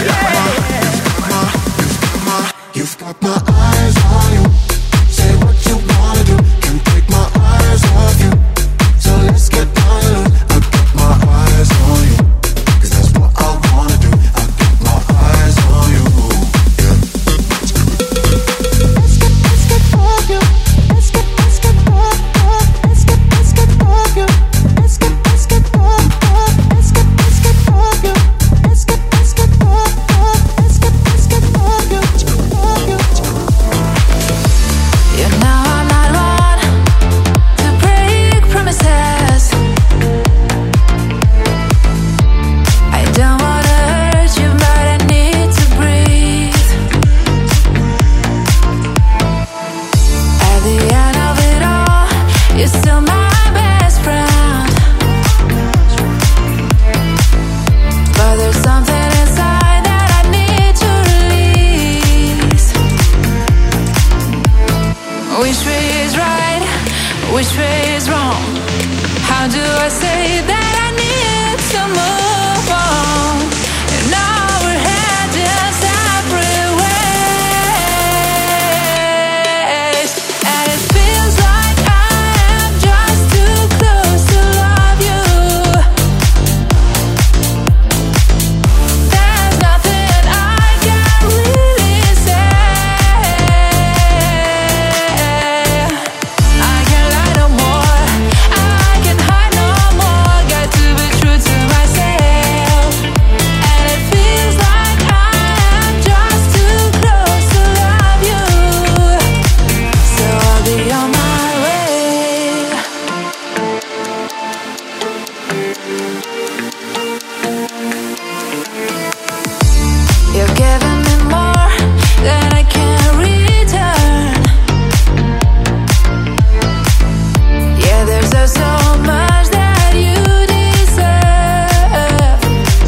Speaker 10: You've got my eyes on you. Say what you wanna do. Can't take my eyes off you. So let's get down to it. I got my eyes on you. Cause that's what I wanna do. I got my eyes on you. Yeah. Let's get, let's get off you. Let's get, let's get off, off. Let's get, let's get off you. Let's get, let's get off, off. Let's get, let's get off you. Let's get, let's get off, off. Let's get, let's get off you.
Speaker 7: You know I'm not one to break promises. I don't wanna hurt you, but I need to breathe. At the end of it all, you're still my best friend. But there's something inside that I need to release. Which way is right? Which way is wrong? How do I say that I need to move on? And now we're heading separate ways. And it feels like I am just too close to love you. There's nothing I can really say. I can't lie no more. I can hide no more. Got to be true to myself. And it feels like I am just too close to love you. So I'll be on my way. You're giving me more than I can return. Yeah, there's just so much that you deserve.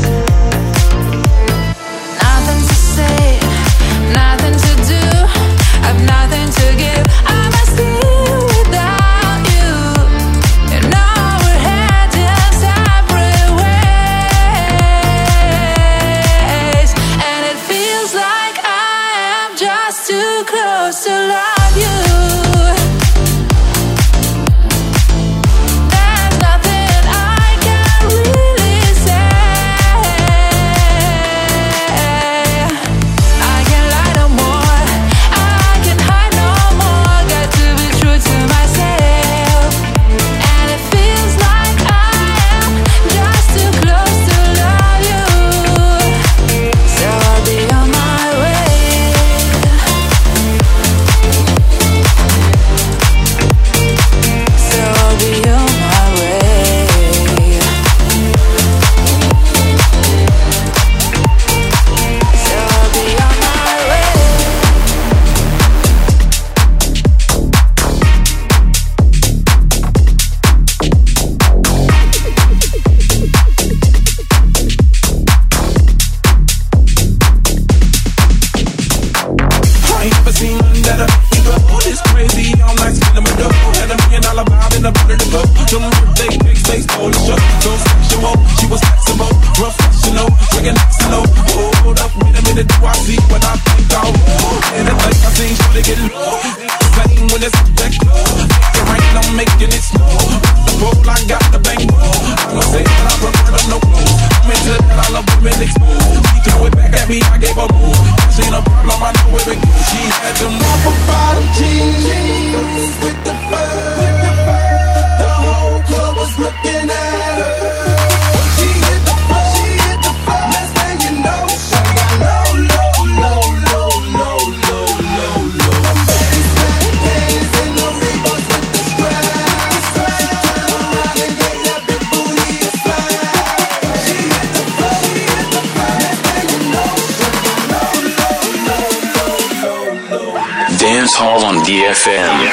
Speaker 7: Nothing to say, nothing to do. I've nothing to give. I must live without you. And now we're heading separate ways. And it feels like I am just too close to love you. There's nothing I can really say. I can't lie no more. I can hide no more. Got to be true to myself. And it feels like I am just too close to love you. So I'll be on my way. So I'll be on my way. So I'll be on my way.
Speaker 11: I ain't never seen nothing better. You go, oh, this crazy, all night, spinning my dough. Had a million dollar vibe in the butter to go. Them birthday cakes, they stole the show. So sexual, she was flexible, professional, drinking next to no. Hold up, wait a minute, do I see what I think I'll roll? And it's like I seen she get low. Same when it's that glow. Make it rain, I'm making it snow. The pole, I got the bang roll. I'm gonna say that I prefer the no clothes. I'm into that, I love women exposed. She threw it back at me, I gave her more. She ain't a problem, I know where it goes. She had them rubber bottom jeans with the fur. The whole club was looking at her. She hit the floor, she hit the floor. Next thing you know, she got low, low, low, low, low, low, low, low. Baby, baby, days in the Reeboks with the strap. She turned around and gave that big booty a slap. She hit the floor.
Speaker 1: Dance Hall on D F M.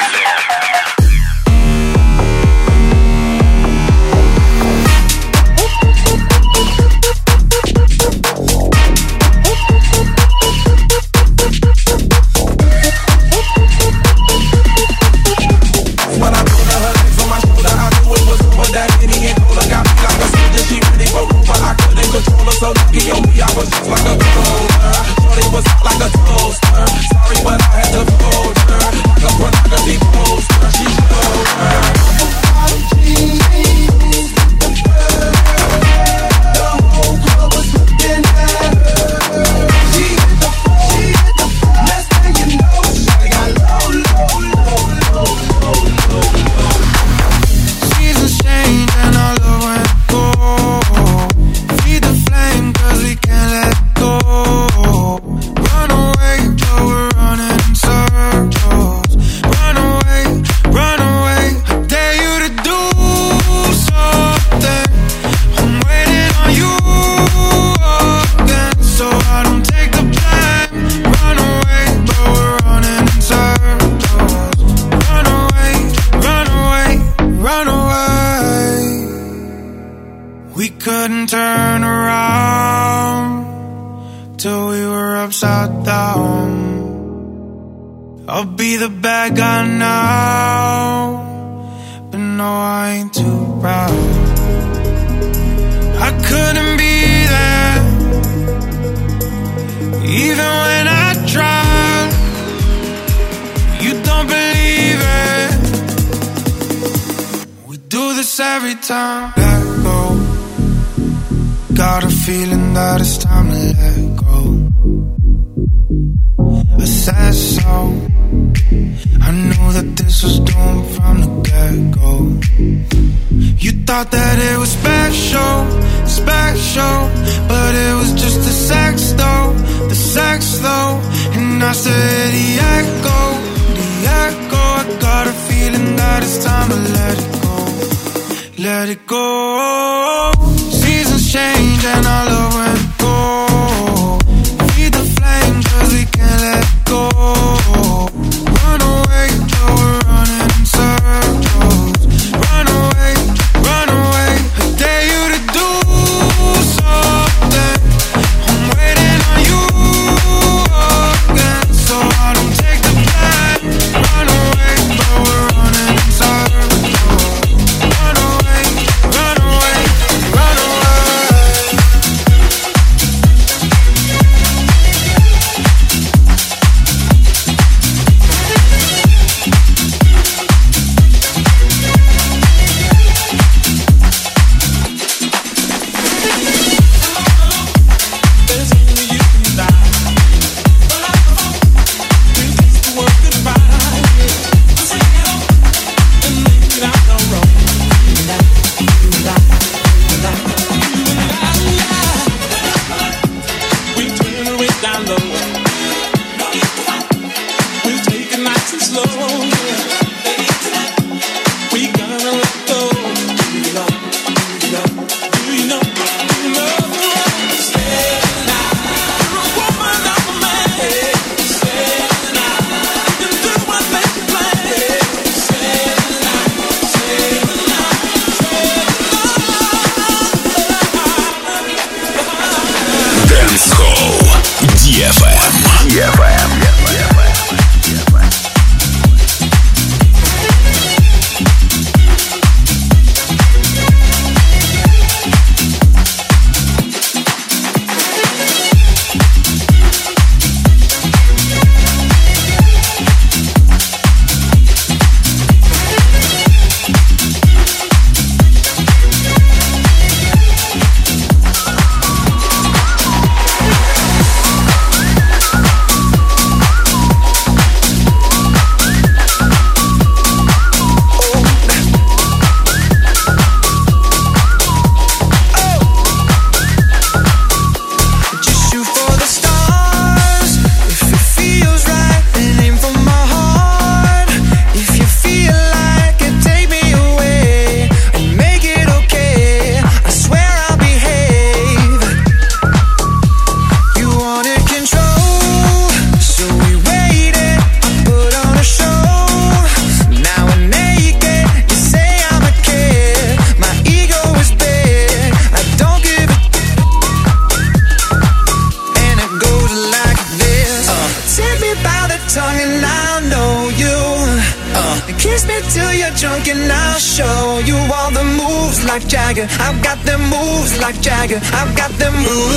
Speaker 8: Kiss me till you're drunk and I'll show you all the moves like Jagger. I've got them moves like Jagger. I've got them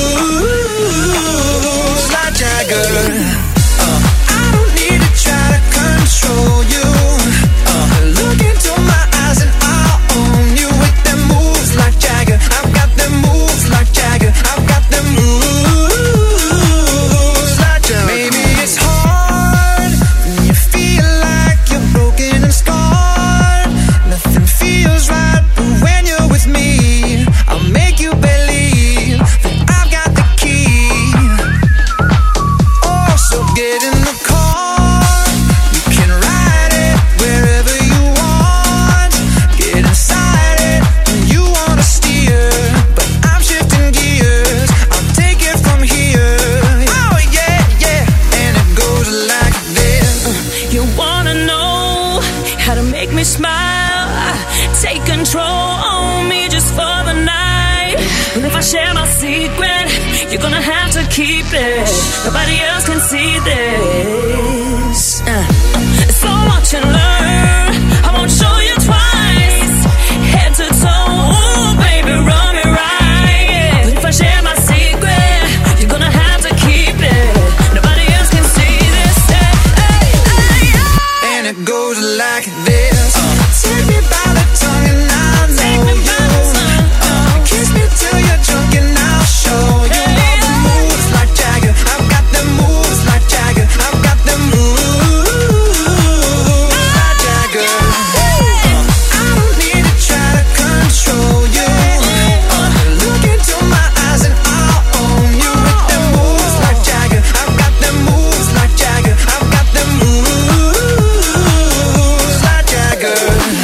Speaker 8: moves like Jagger. Uh, I don't need to try to control you. Uh, look into my eyes and I'll own you with them moves like Jagger. I've got them moves like Jagger. I've got them moves like Jagger. Maybe it's hard when you feel like you're broken and scarred. Nothing feels right, but when you're with me, I'll make you believe that I've got the key. Oh, so get in the car. You can ride it wherever you want. Get inside it when you wanna steer. But I'm shifting gears. I'll take it from here. Oh yeah, yeah. And it goes like this.
Speaker 7: You wanna know how to make me smile? Take control on me just for the night. But if I share my secret, you're gonna have to keep it. Nobody else can see this. Uh, so watch and learn. I won't show you twice. Head to toe, ooh, baby, run me right. But if I share my secret, you're gonna have to keep it. Nobody else can see this. Hey, hey, hey, hey.
Speaker 8: And it goes like this. Take me by the tongue and I'll know you. Uh, kiss me till you're drunk and I'll show you all the moves like Jagger. I've got them moves like Jagger. I've got them moves like Jagger. Uh, I don't need to try to control you. Uh, look into my eyes and I'll own you with them moves like Jagger. I've got them moves like Jagger. I've got them moves like Jagger.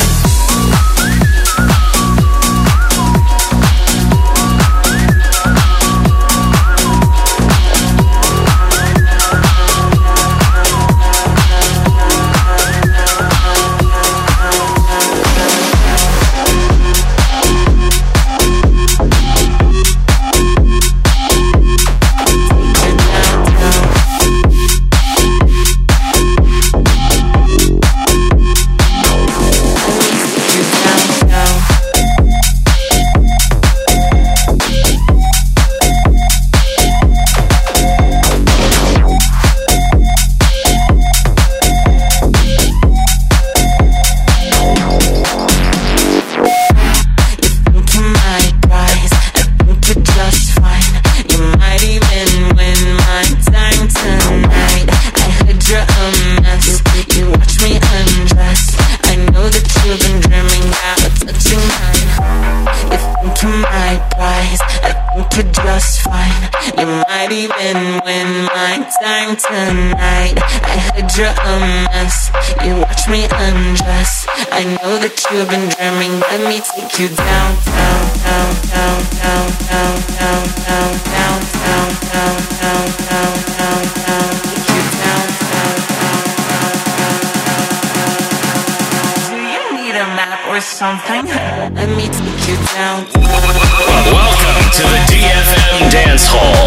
Speaker 5: Tonight, I heard you're a mess. You watch me undress. I know that you've been dreaming. Let me take you down, down, down, down, down, down, down, down, down, down, down, down, down, down, down. Take you down, down, down, down, down, down. Do you need a map or something? Let me take you down.
Speaker 1: Welcome to the D F M Dance Hall.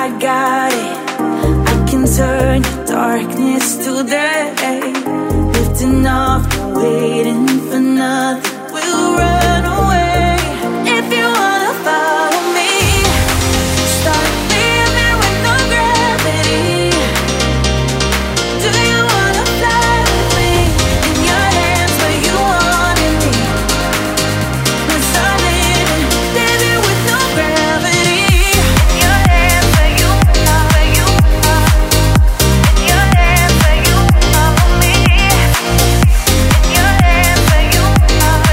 Speaker 7: turn your darkness to day. Lift putting off, waiting for nothing. We'll run away if you wanna follow me. Start living with no gravity. Do you wanna fly with me? In your hands where you wanted me. Let's start living, living with no gravity. In your hands where you are, where you are. In your hands where you follow me. In your hands where you are.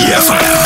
Speaker 6: эф эм.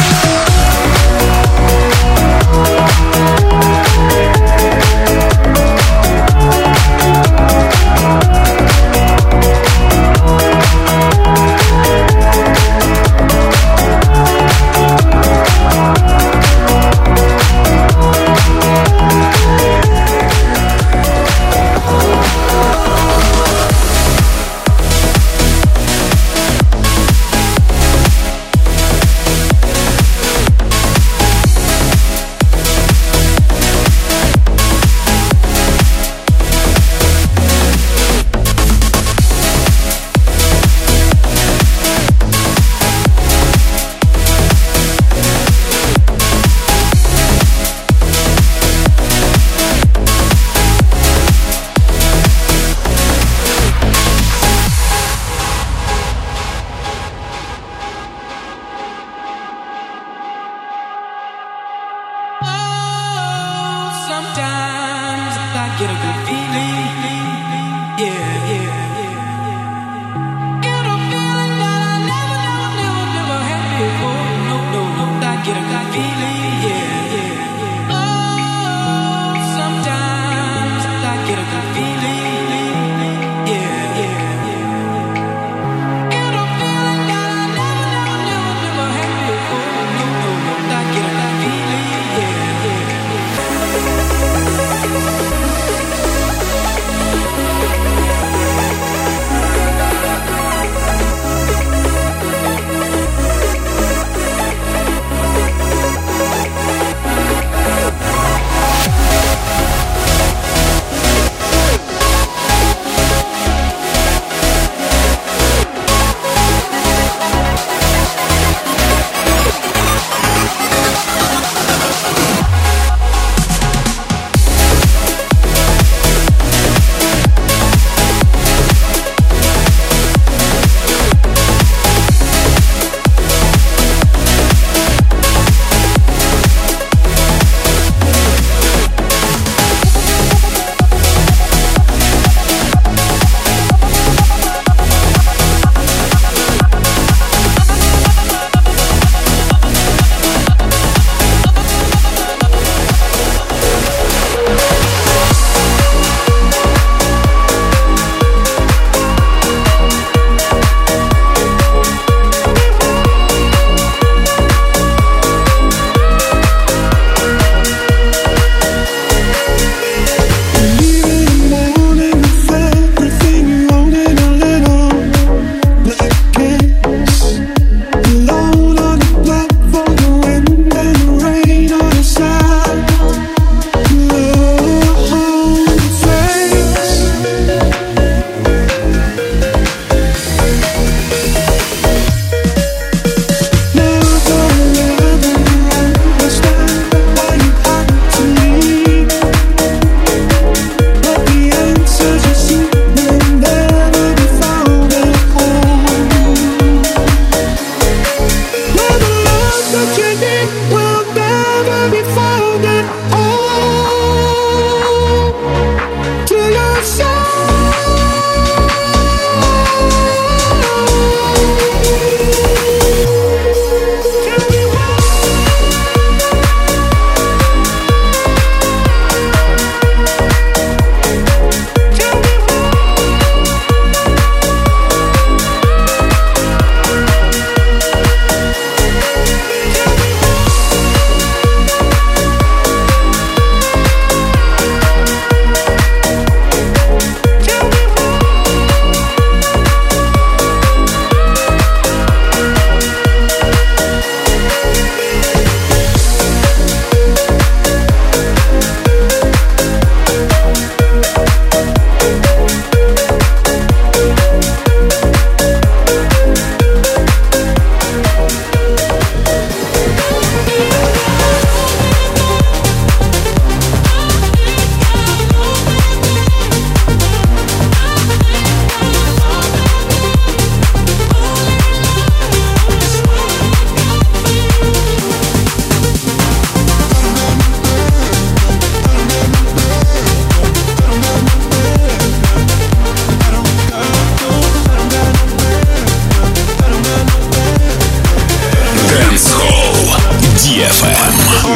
Speaker 6: эф эм.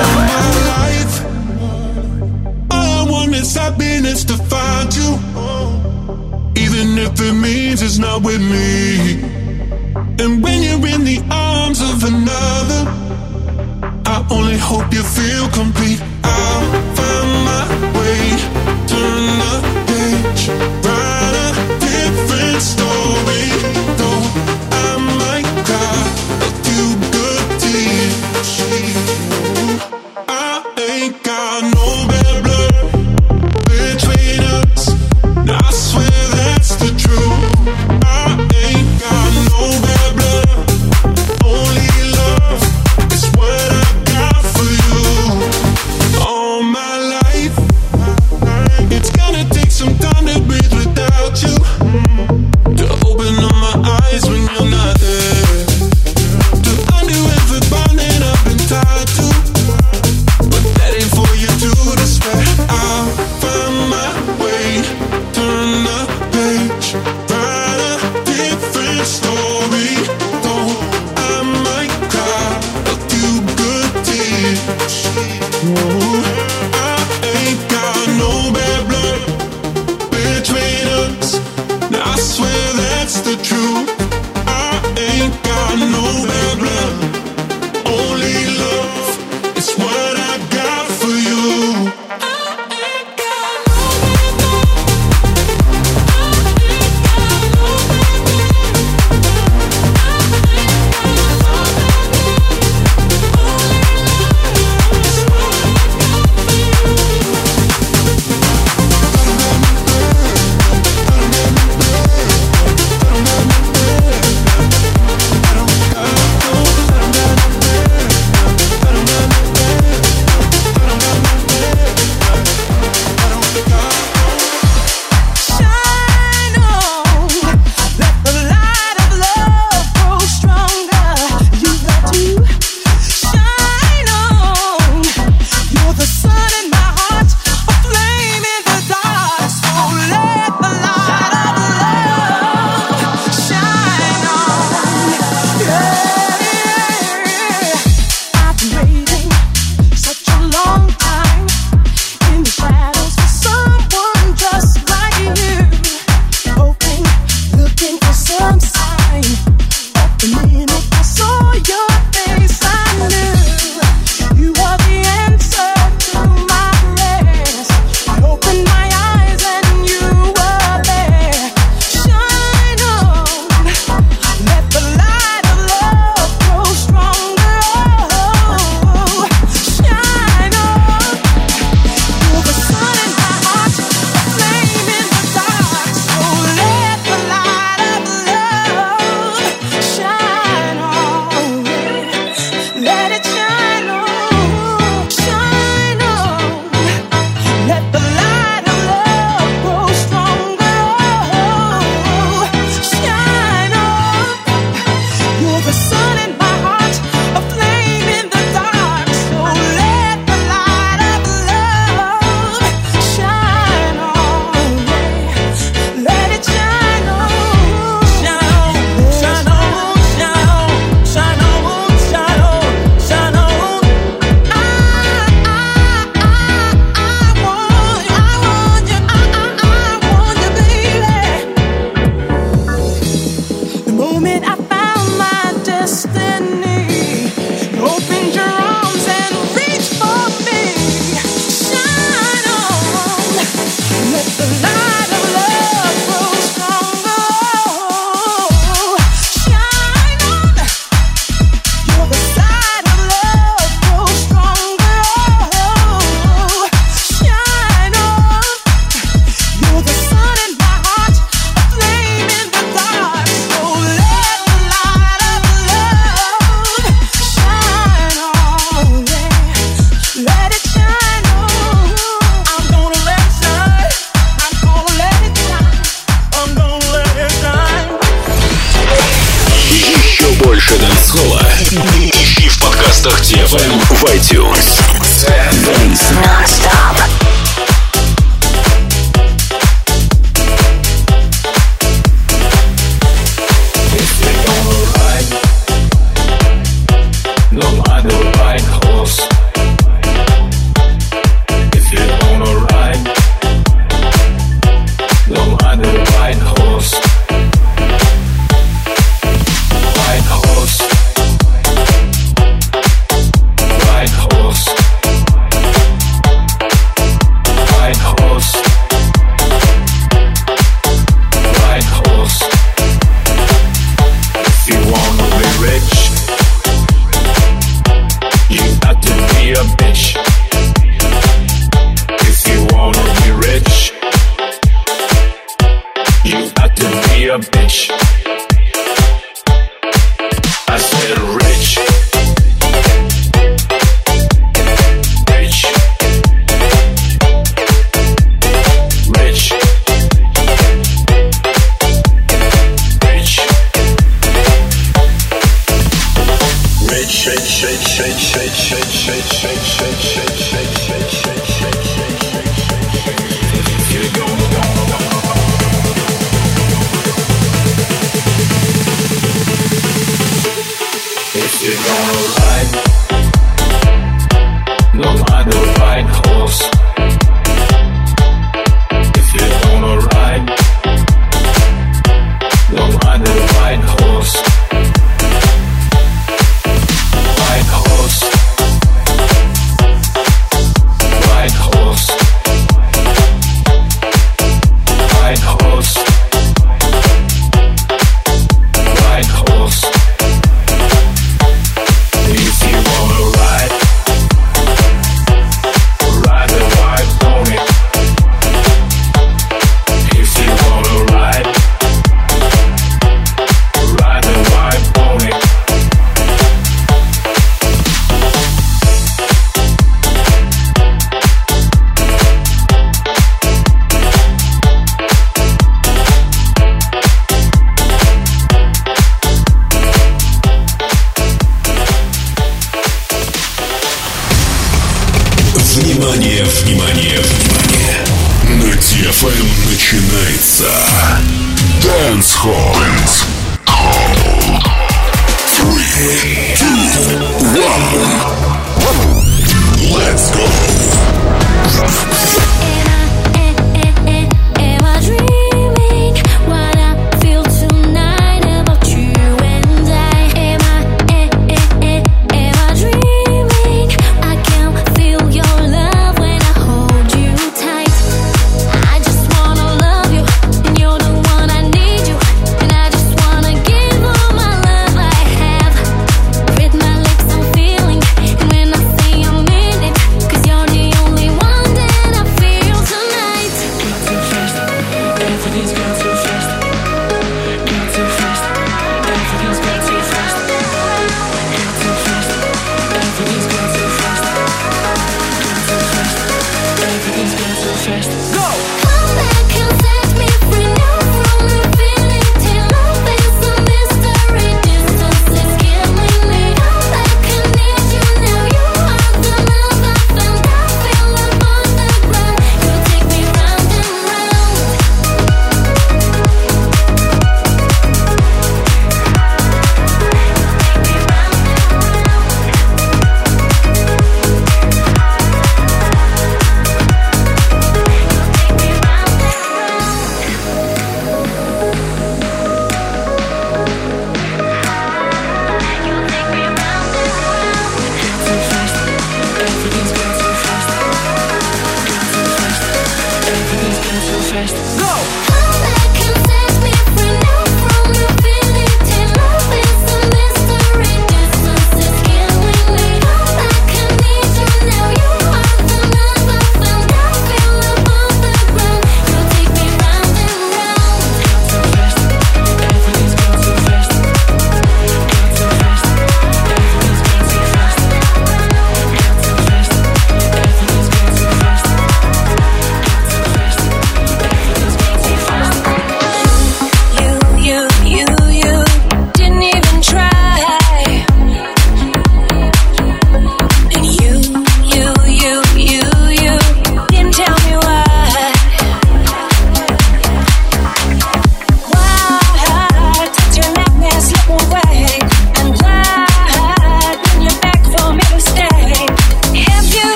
Speaker 11: All I want is happiness to find you, even if it means it's not with me. And when you're in the arms of another, I only hope you feel complete. I'll find my way, turn the page, write a different story. Though I might cry a few good tears, I ain't got no bad blood between us. I swear that's the truth. I ain't got no bad blood, only love is what I got for you. All my life, it's gonna take some time to breathe without you, to open up my eyes when you're not there, to undo every bond that I've been tied to. But that ain't for you to despair. I'll find my way, turn the page, write a different story. Though I might cry a few good tears. Ooh, I ain't got no bad blood between us. Now I swear that's the truth. I ain't got no bad blood, only love is what I got for you.
Speaker 6: Ищи в подкастах ти эф эм в iTunes.
Speaker 4: Non-stop.
Speaker 2: No, I don't like be a bitch. If you wanna be rich, you got to be a bitch. I said rich. Rich. Rich. Rich. Rich, rich, rich, rich, rich, rich, rich, rich, rich, rich, rich, rich, rich, rich. Here we go. If you're gonna ride, don't ride the right horse. If you're gonna ride, don't ride the right horse. Right horse. Right horse. Right horse. Right horse. If you wanna ride, ride the white pony. If you wanna ride, ride the white pony.
Speaker 6: Внимание, внимание, внимание! На ди эф эм начинается Dance Hall. Three, two, one. Let's go.
Speaker 4: Am I dreaming what I feel tonight about you and I? Am I, am I dreaming? I can feel your love when I hold you tight. I just wanna love you, and you're the one I need you, and I just wanna give all my love I have. With my lips I'm feeling, and when I say I mean it, 'cause you're the only one that I feel tonight.
Speaker 5: Got too fast, everything's got too fast. Got too fast, everything's got too fast. Got too fast, everything's got too fast. Got too fast, everything's got too fast. Go!
Speaker 4: Come back and set me free now from the feeling. Till love is a mystery, distance is killing me. Come back and need you now. You are the love I found. I feel above the ground. You take me round and round.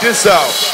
Speaker 10: this out.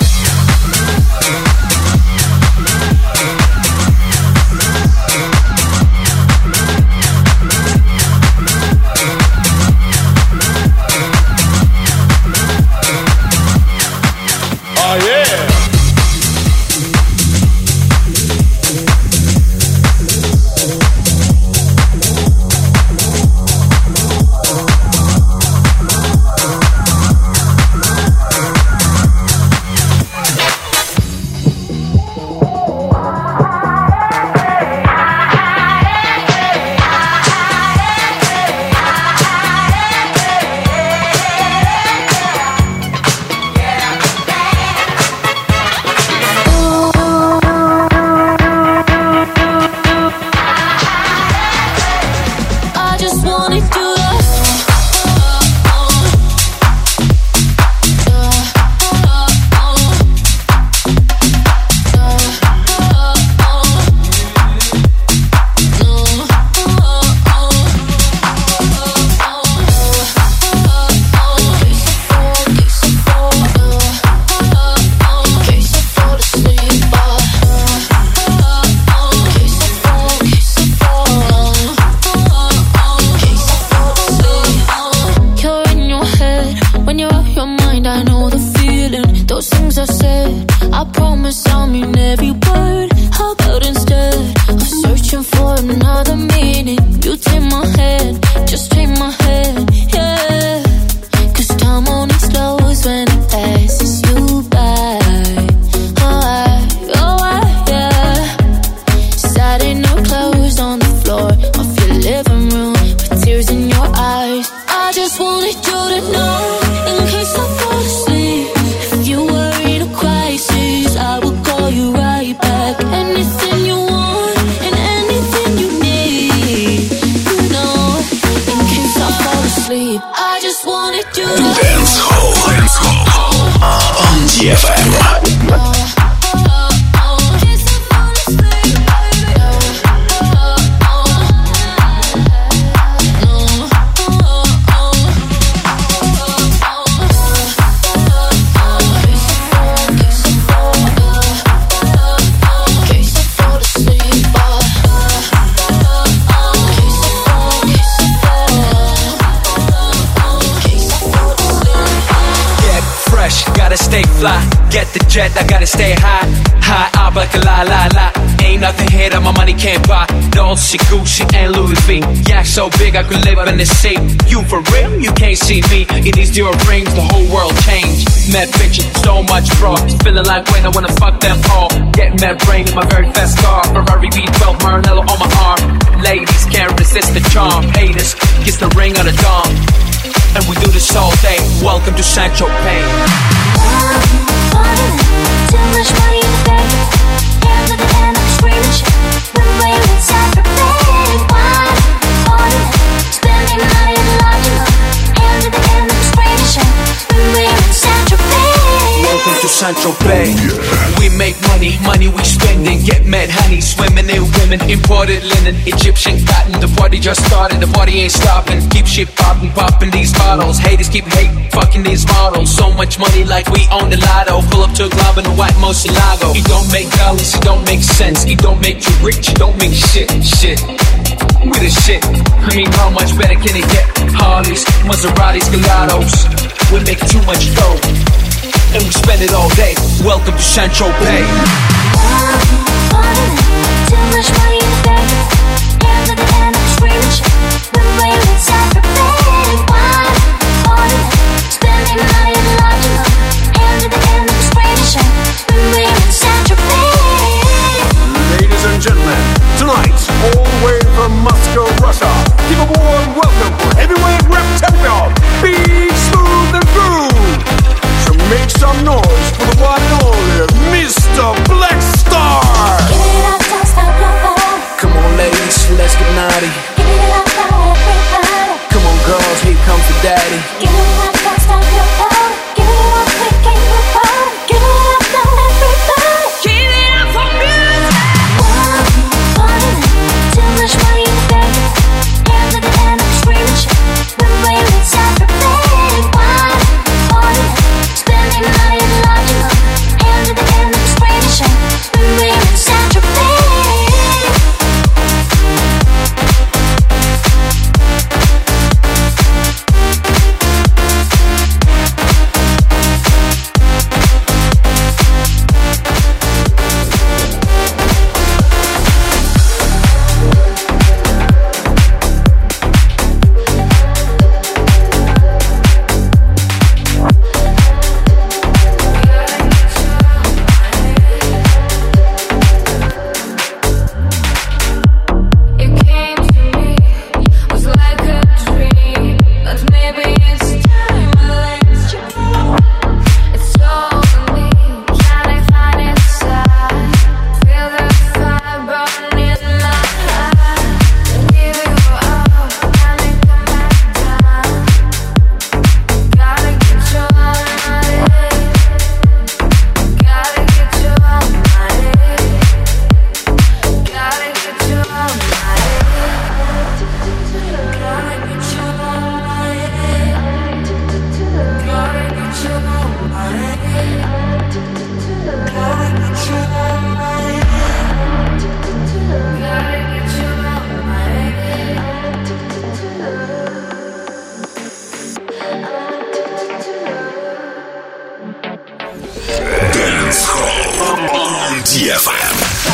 Speaker 12: I gotta stay high, high up like a la la la. Ain't nothing here that my money can't buy. Dolce, Gucci, and Louis V. Yeah, so big I could live in the sea. You for real? You can't see me. In these dear rings, the whole world changed. Mad bitches, so much fraud. Feeling like when I wanna fuck them all. Get mad brain in my very fast car. Ferrari V twelve, Maranello on my arm. Ladies can't resist the charm. Haters, kiss the ring of the dawn. And we do this all day. Welcome to Sancho Pay.
Speaker 4: Too much money in the bank. Hands at the end, I'm screaming shit. Run away with Sandra Bang. Why? Order. Spending money in large amount. Hands at the end, I'm screaming shit. Run away with Sandra Bang.
Speaker 12: Welcome to Sancho Bay. We make money, money we spending. Get mad honey, swimming in women. Imported linen, Egyptian cotton. The party just started, the party ain't stopping. Keep shit popping, popping these bottles. Haters keep hating, fucking these models. So much money like we own the lotto. Pull up to a club in a white Murcielago. It don't make dollars, it don't make sense. It don't make you rich, it don't make shit, shit. We the shit. I mean, how much better can it get? Harleys, Maseratis, Gelatos. We make too much dough, and we spend it all day. Welcome to Sancho Bay.
Speaker 4: Too much money in the bank. Hands at the end, I'm screaming shit. Run away with Sandra Bang. Why? Order. Spending money in large amount. Hands at the end, I'm screaming shit. Run away with Sandra Bang.
Speaker 13: Ladies and gentlemen, tonight, all the way from Moscow, Russia, give a warm welcome for heavyweight rep champion, Big Smooth and Groove. So make some noise for the one and only Mister Black Star.
Speaker 4: Give it up, don't stop your heart.
Speaker 12: Come on, ladies, let's get naughty.
Speaker 4: Give it up, now everybody.
Speaker 12: Come on, girls, here comes the daddy.
Speaker 4: Give it up, don't stop your heart. Give it up, quick and your party. Give it up, now everybody. Give it up for music. Too much money in the bank. Hands at the end, I'm screaming shit. Run away with Sandra Bang. Why? Order. Spending money in large
Speaker 6: эф эм.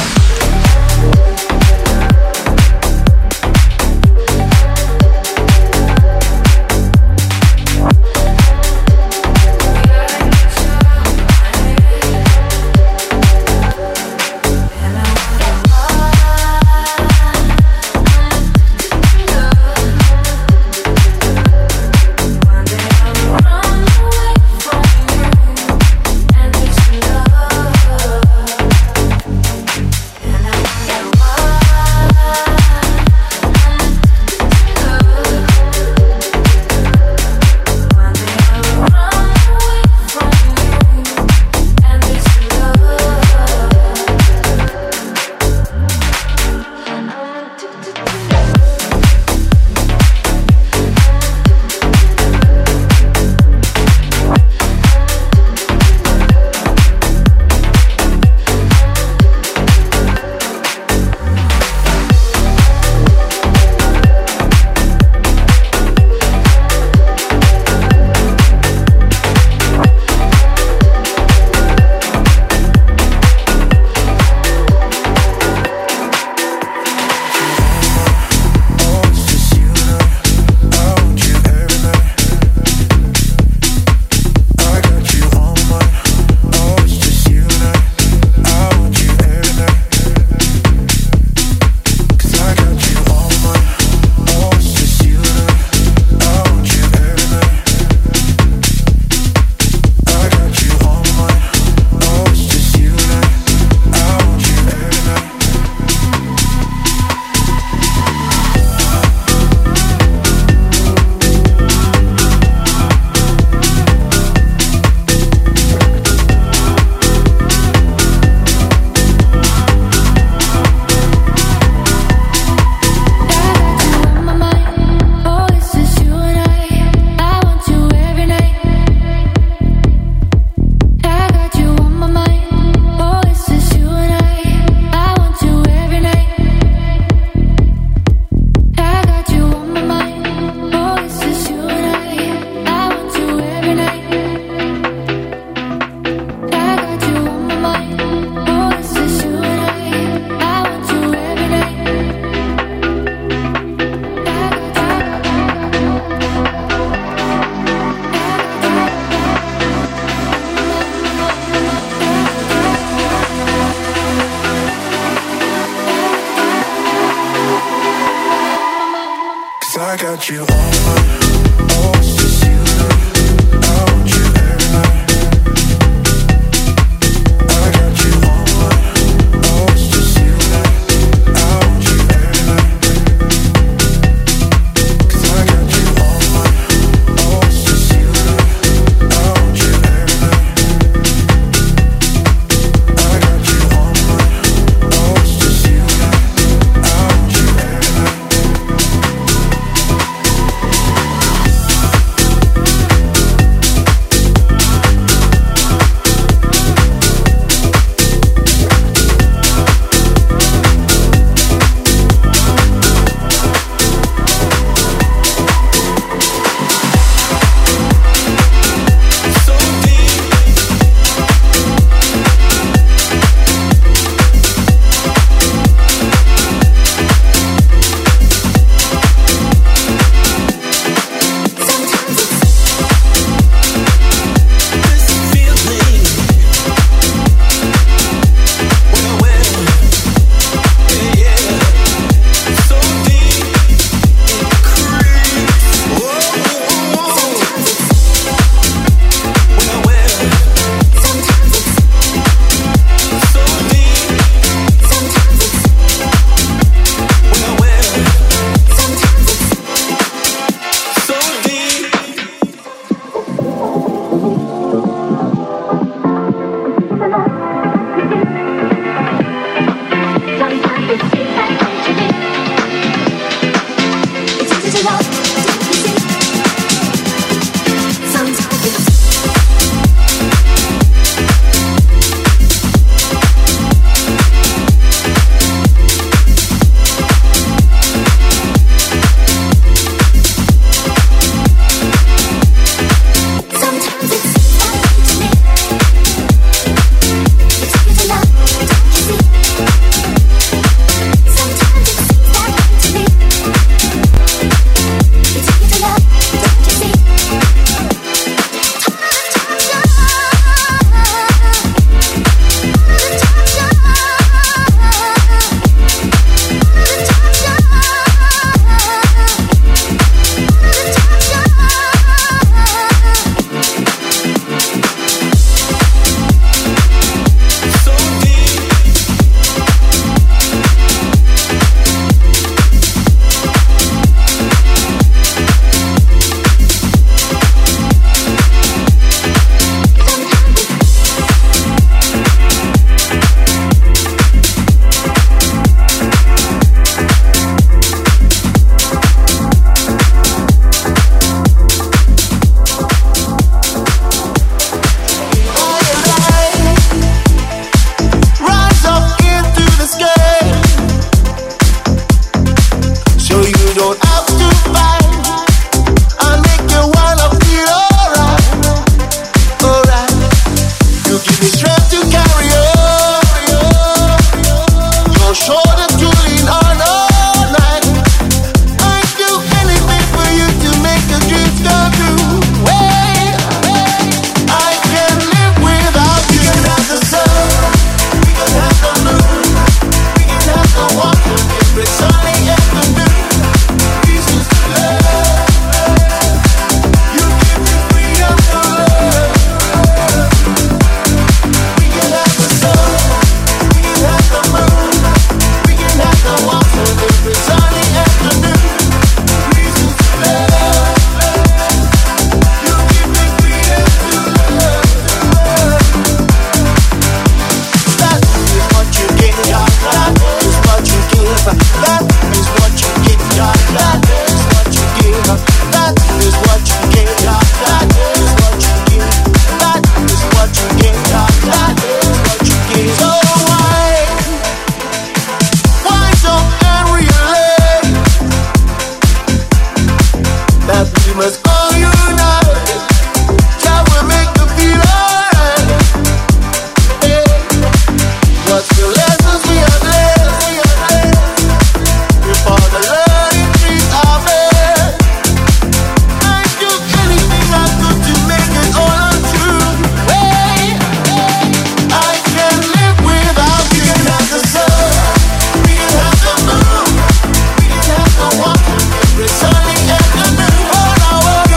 Speaker 14: I got you on my, oh, it's just you and I. I want you every night. I got you on my, oh, it's just you and I. I want you every night. 'Cause I got you on my, oh, it's just you and I. I want you every night. I got you on my, oh, it's just you and I. I want you every night.
Speaker 10: must all unite. Jah will make you feel alright. Hey. What's the lessons we have learned? If all the learning trees are bare, I'd do anything I could to make it all untrue. Hey, I can't live without you. We can have the sun, we can have the moon, we can have the water, every sunny afternoon. All I want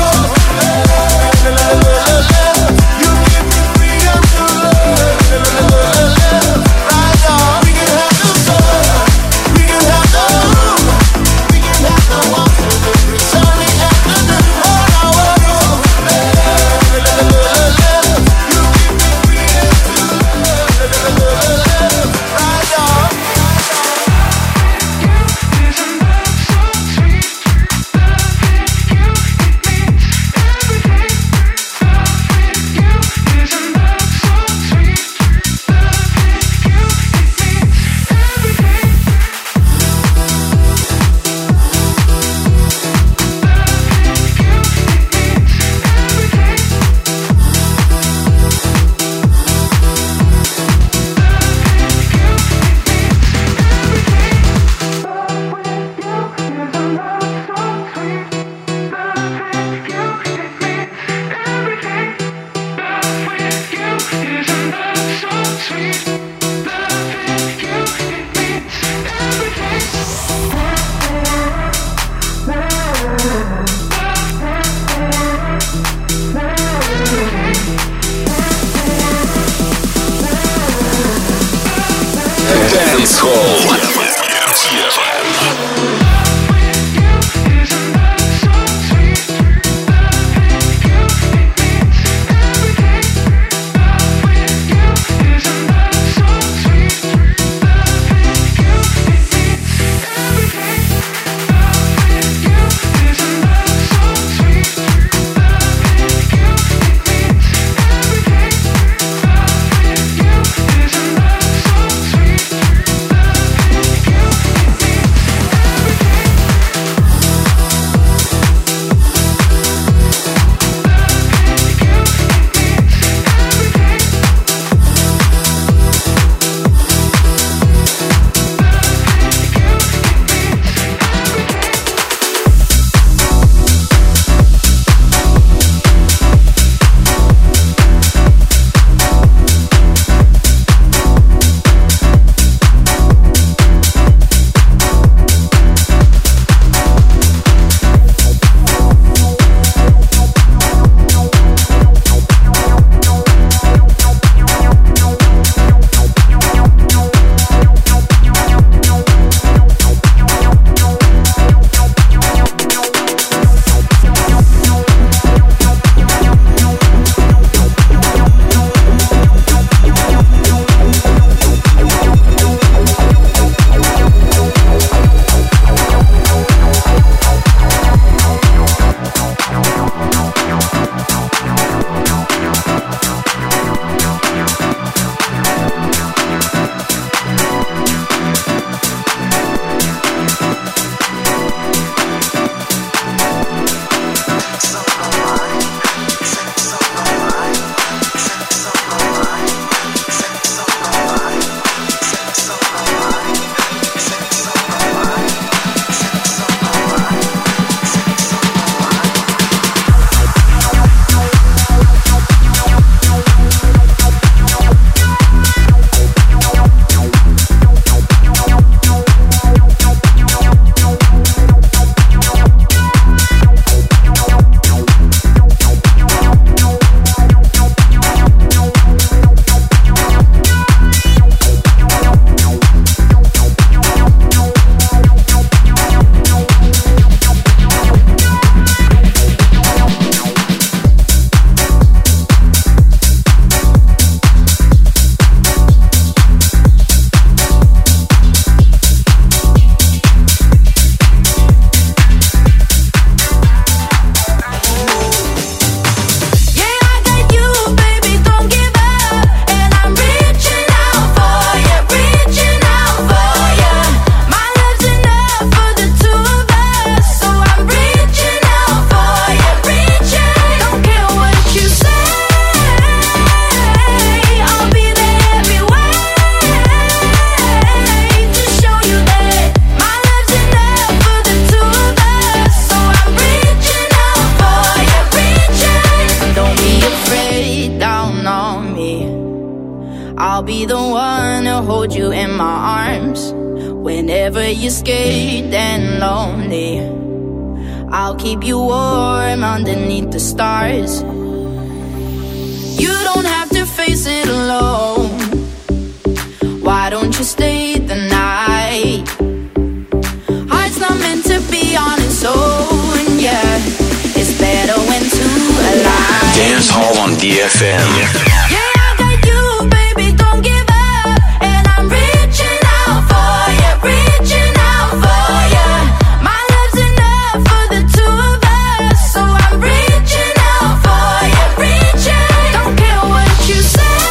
Speaker 15: I'll be the one to hold you in my arms whenever you're scared and lonely. I'll keep you warm underneath the stars. You don't have to face it alone. Why don't you stay the night? Heart's not meant to be on its own, yeah. It's better when two align.
Speaker 6: Dance Hall on D F M.
Speaker 15: Yeah, I got you, baby, don't give up. And I'm reaching out for you, reaching out for you. My love's enough for the two of us, so I'm reaching out for you, reaching. Don't care what you say,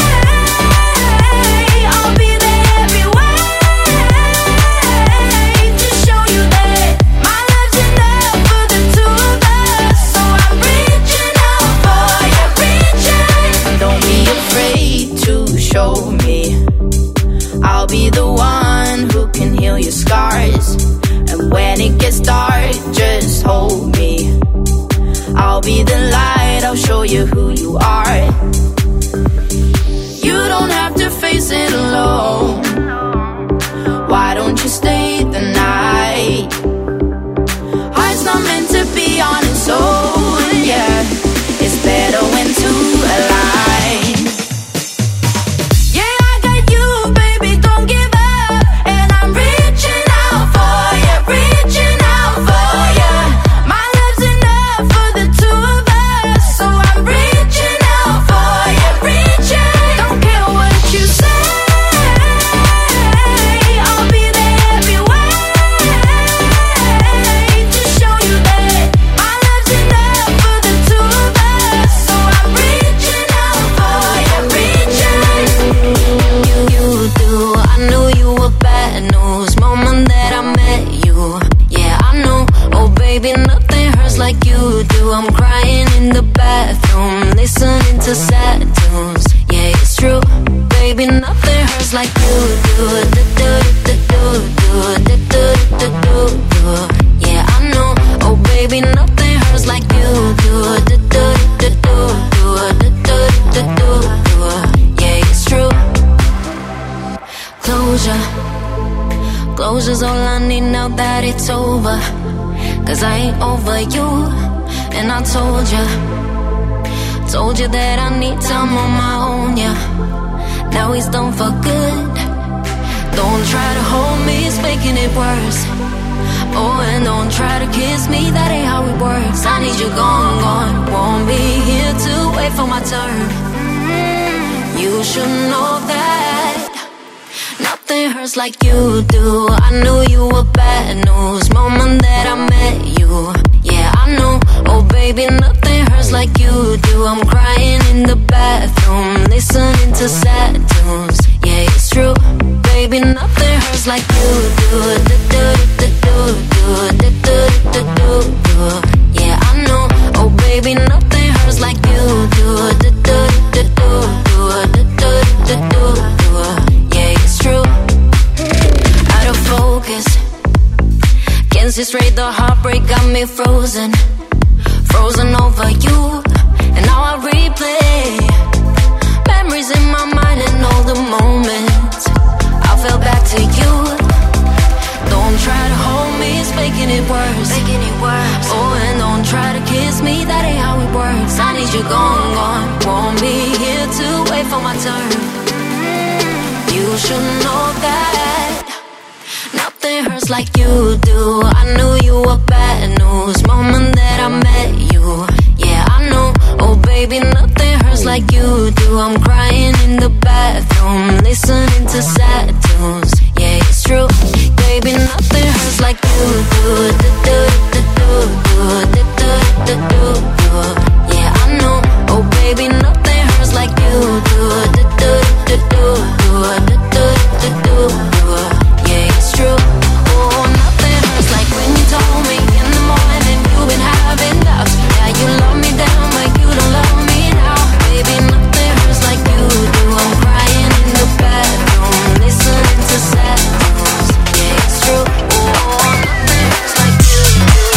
Speaker 15: I'll be there every way to show you that my love's enough for the two of us, so I'm reaching out for you, reaching. Don't be afraid to show me. I'll be the one who can heal your scars. And when it gets dark, just hold me. I'll be the light, I'll show you who you are. You don't have to face it alone. Why don't you stay the night? Heart's not meant to be on its own, yeah. It's better when two align. Yeah, I got you, baby, don't give up. And I'm reaching out for you, reaching out for you. My love's enough for the two of us, so I'm reaching out for you, reaching. Don't care what you say, I'll be there every way to show you that my love's enough for the two of us, so I'm reaching out for you, reaching. You, you do, I knew you were bad news moment that I met you. Yeah, I know, oh baby, nothing hurts like you do. I'm crying in the bathroom, listening to sad tunes. Yeah, it's true, baby, nothing hurts like you do. Do, do, do, do, do, do, do, do, do, do. Yeah, I know, oh baby, nothing hurts like you do. Do, do, do, do, do, do, do, do, do, do. Yeah, it's true. Closure, closure's all I need now that it's over. Cause I ain't over you, and I told you, told you that I need time on my own, yeah. Now he's done for good. Don't try to hold me, it's making it worse. Oh, and don't try to kiss me, that ain't how it works. I need you gone, gone. Won't be here to wait for my turn. You should know that nothing hurts like you do. I knew you were bad news moment that I met you. Yeah, I know, oh baby, nothing hurts like you do. I'm crying in the bathroom, listening to sad tunes. Yeah, it's true, baby, nothing hurts like you do. Do, do, do, do, do, do, do, do, do. Yeah, I know, oh baby, nothing hurts like you do. Do, do, do, do, do, do, do, do, do. Yeah, it's true. Out of focus, can't see straight, the heartbreak got me frozen. Frozen over you, and now I replay memories in my mind and all the moments I fell back to you. Don't try to hold me, it's making it worse, making it worse. Oh, and don't try to kiss me, that ain't how it works. I need you gone, gone. Won't be here to wait for my turn. You should know that nothing hurts like you do. I knew you were bad news moment that I met you. Yeah, I know, oh baby, nothing hurts like you do. I'm crying in the bathroom, listening to sad tunes. Yeah, it's true, baby, nothing hurts like you do. Do, do, do, do, do, do, do, do, do. Yeah, I know, oh baby, nothing hurts like you do. Do, do, do, do, do, do, do, do, do, do. Yeah, it's true. Oh, nothing hurts like when you told me in the morning you've been having doubts. Yeah, you love me down, but you don't love me now. Baby, nothing hurts like you do. I'm crying in the bathroom, listening to sad tunes. Yeah, it's true. Oh, nothing hurts like you do.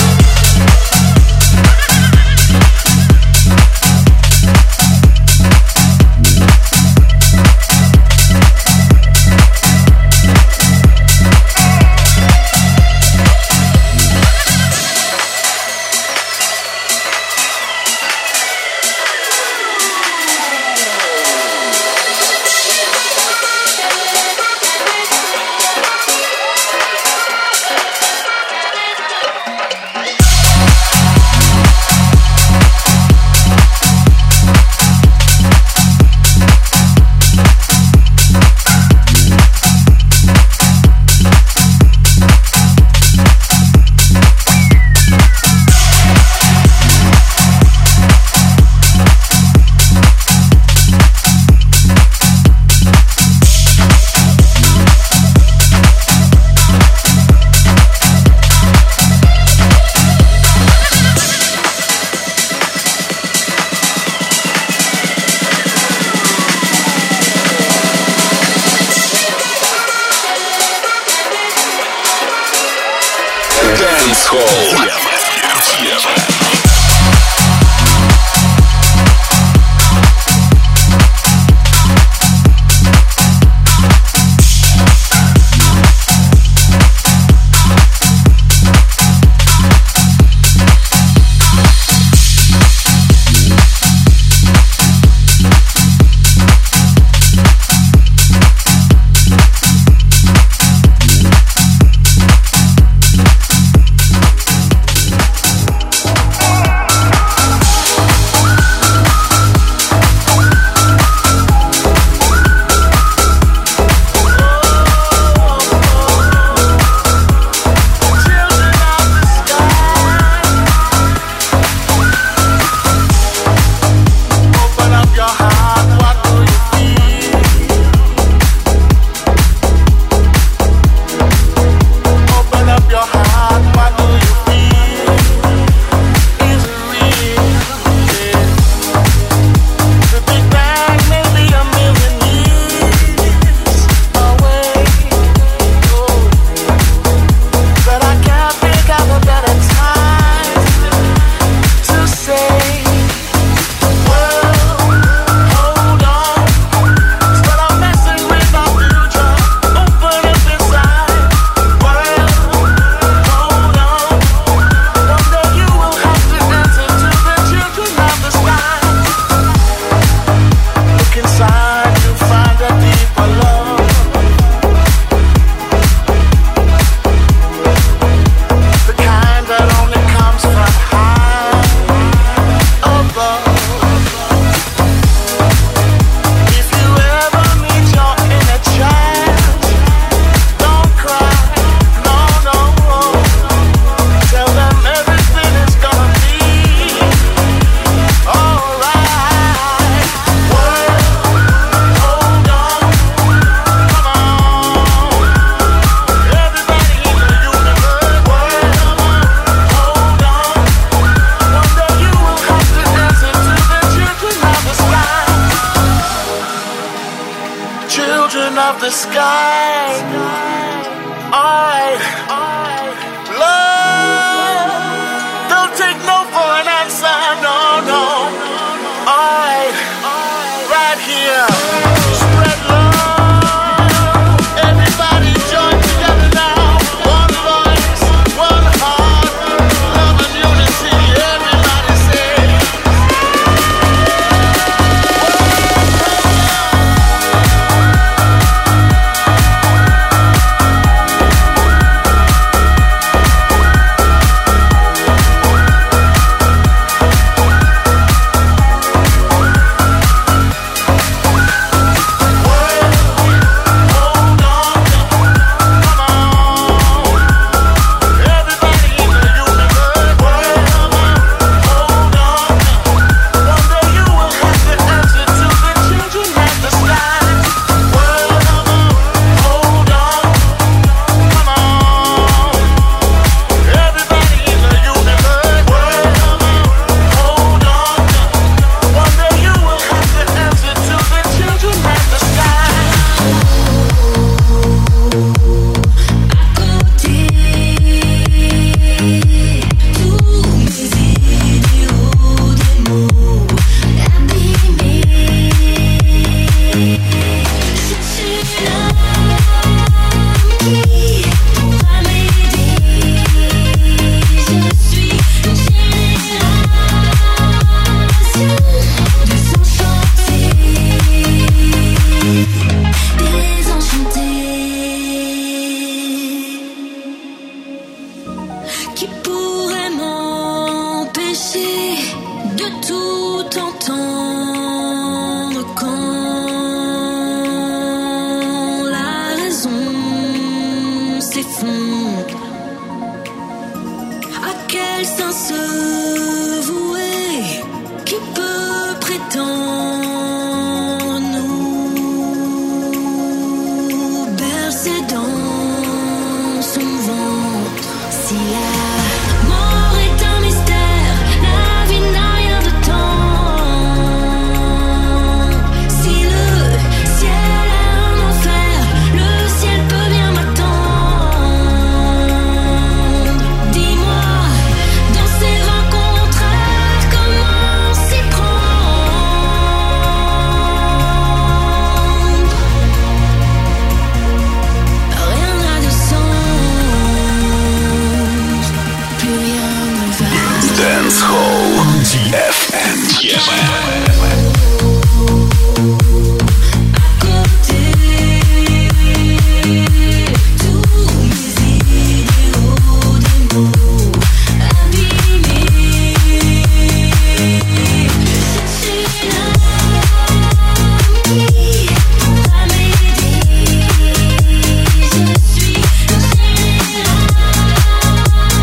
Speaker 16: the sky. I love. Don't take no for an answer. No, no. I right here. Spread love. Everybody join together now. One voice, one heart. Love and unity. Everybody say.
Speaker 4: Qui pourrait m'empêcher de tout entendre quand la raison s'effondre? À quel sens se vouer? Qui peut prétendre nous bercer dans son ventre? Si la mort est un mystère, la vie n'a rien de temps. Si le ciel est un enfer, le ciel peut bien m'attendre. Dis-moi, dans ces rencontres, comment s'y prendre? Rien n'a de sens, plus rien ne va.
Speaker 6: Dance Hall D F M.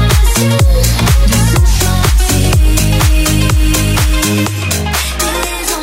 Speaker 4: Des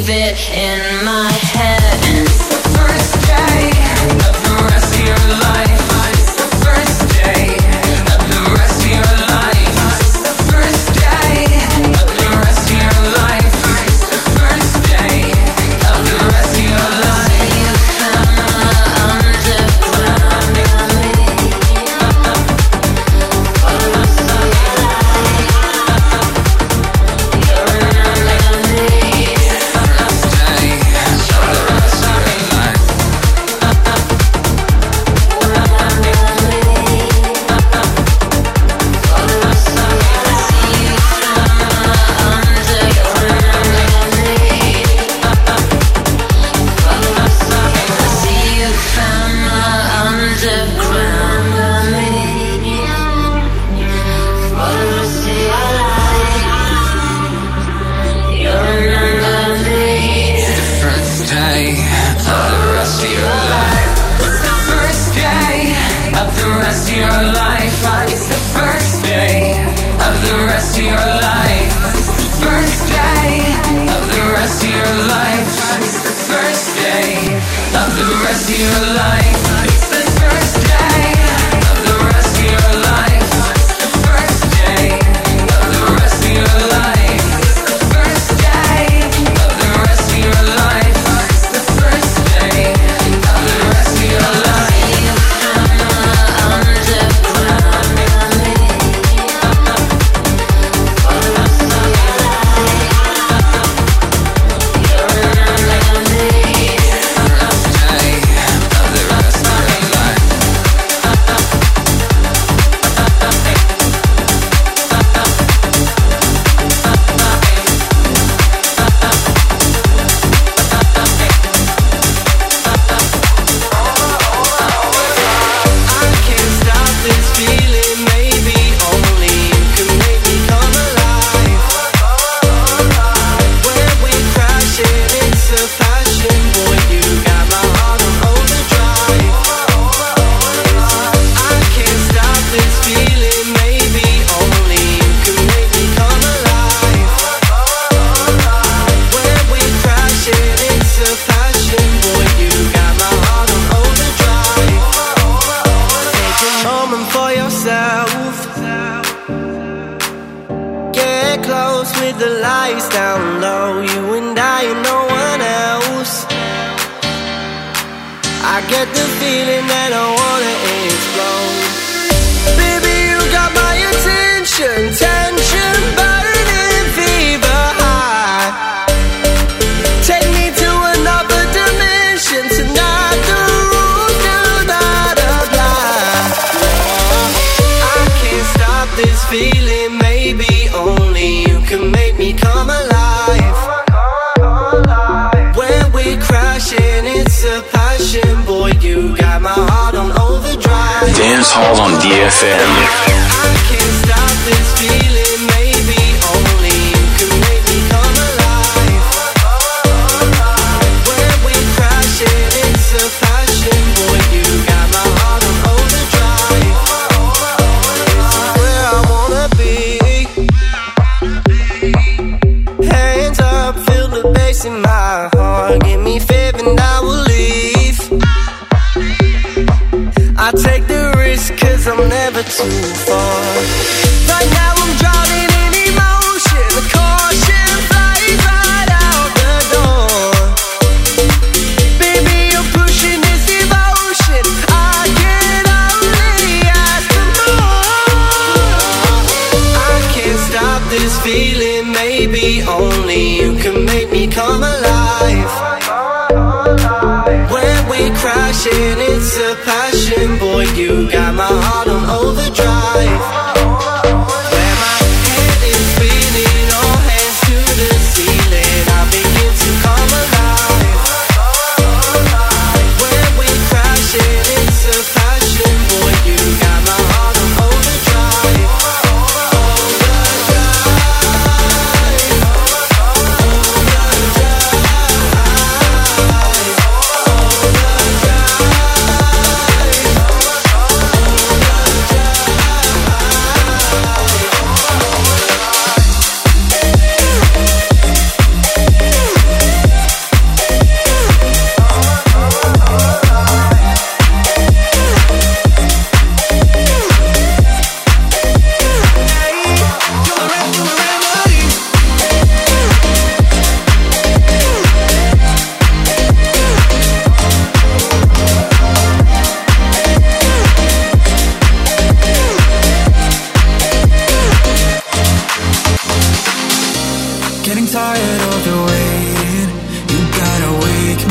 Speaker 5: keep it in my head. It's the first day of the rest of your life. It's the first day of the rest of your life. It's the first day of the rest of your life. It's the first day of the rest of your life. You found my underground.
Speaker 6: Dance Hall on D F M.
Speaker 8: Too far. Right now I'm drowning in emotion. The caution flies right out the door. Baby, you're pushing this devotion. I can only ask for more. I can't stop this feeling. Maybe only you can make me come alive. When we crashing, it's a passion, boy. You got my heart on overdrive. Where my head is spinning, all hands to the ceiling, I begin to come alive. When we crashing, it's a passion, boy. You got my heart on overdrive. Overdrive. Overdrive.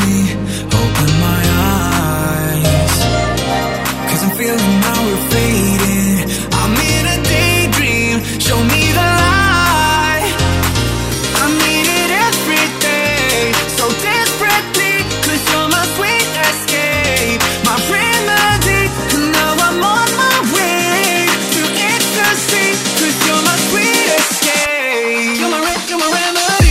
Speaker 17: open my eyes. Cause I'm feeling now we're fading. I'm in a daydream, show me the light. I need it every day, so desperately. Cause you're my sweet escape, my remedy. And now I'm on my way to ecstasy. Cause you're my sweet escape. You're my, re- you're my remedy.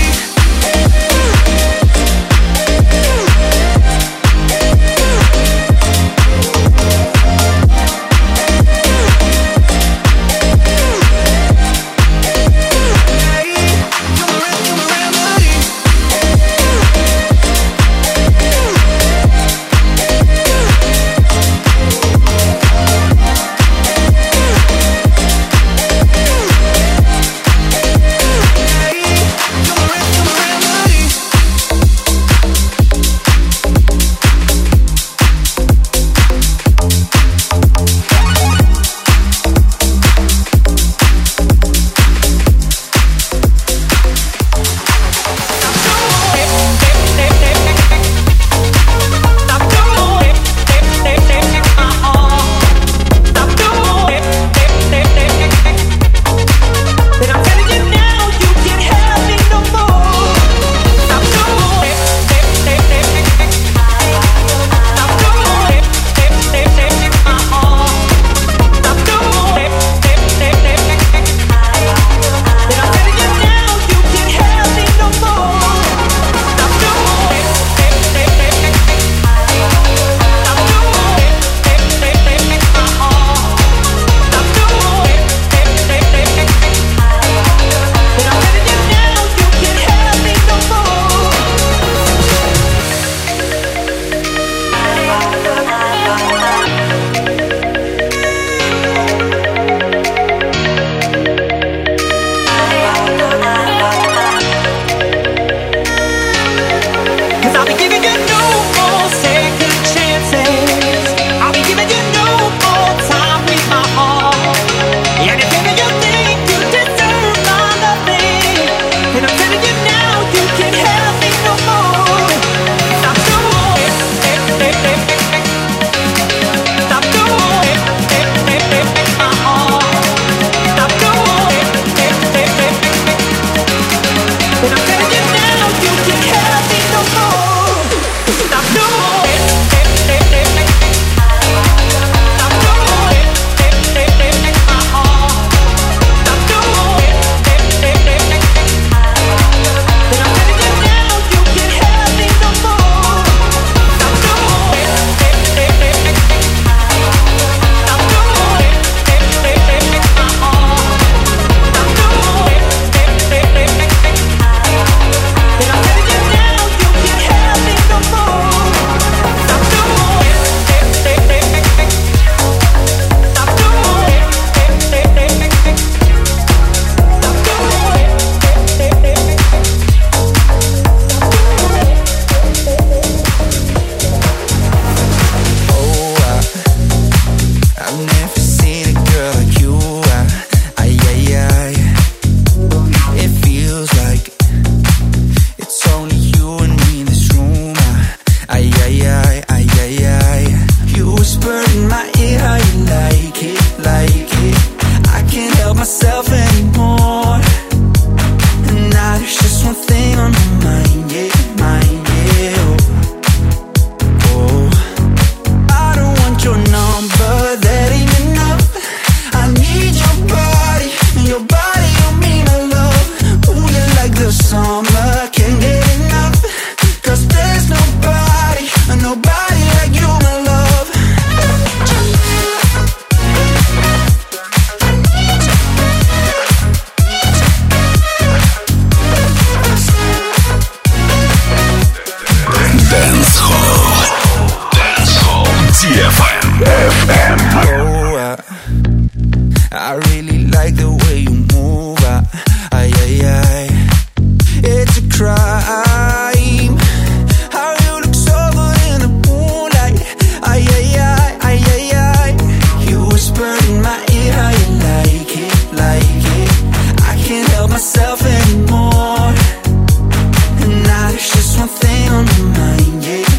Speaker 17: myself anymore. And now there's just one thing on my mind, yeah.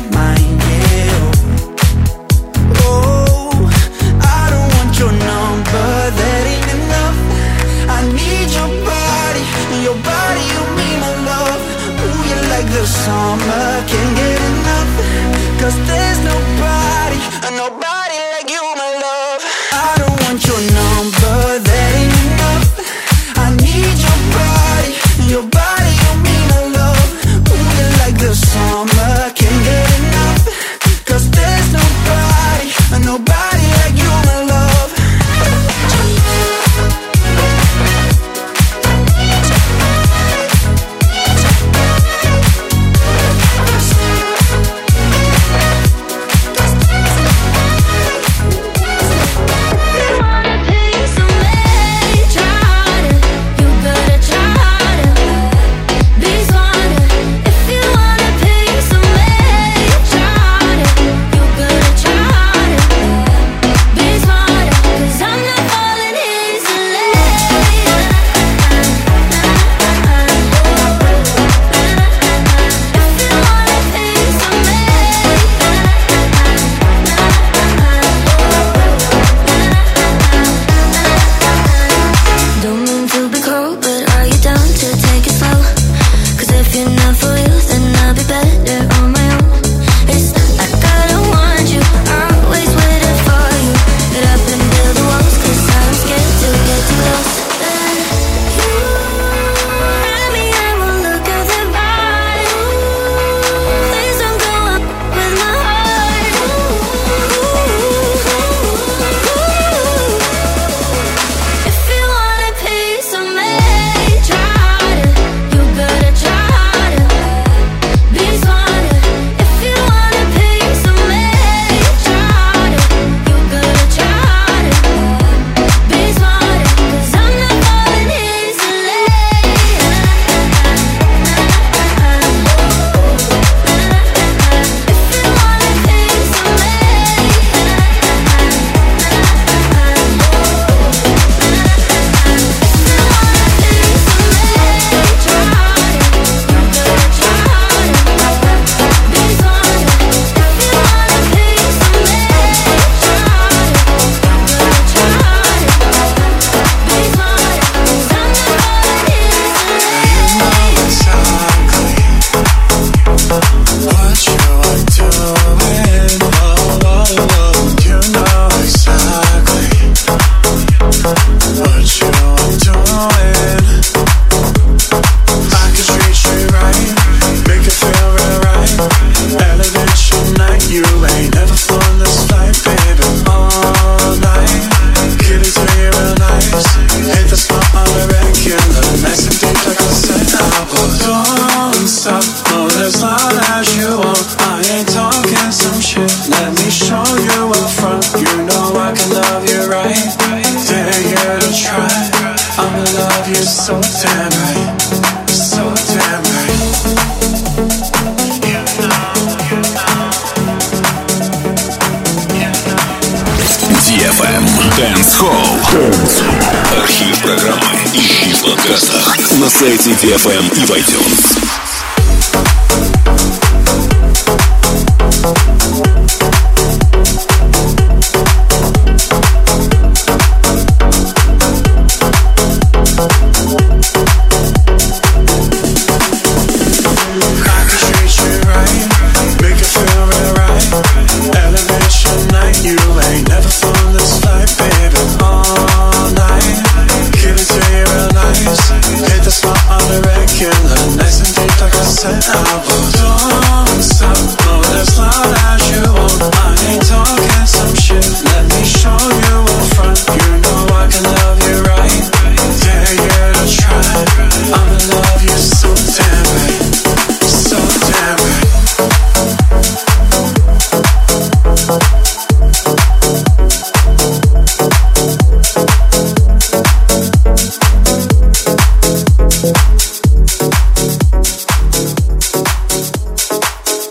Speaker 6: эф эм Dance Hall. Архив программы ищи в подкастах на сайте ди эф эм и в iTunes.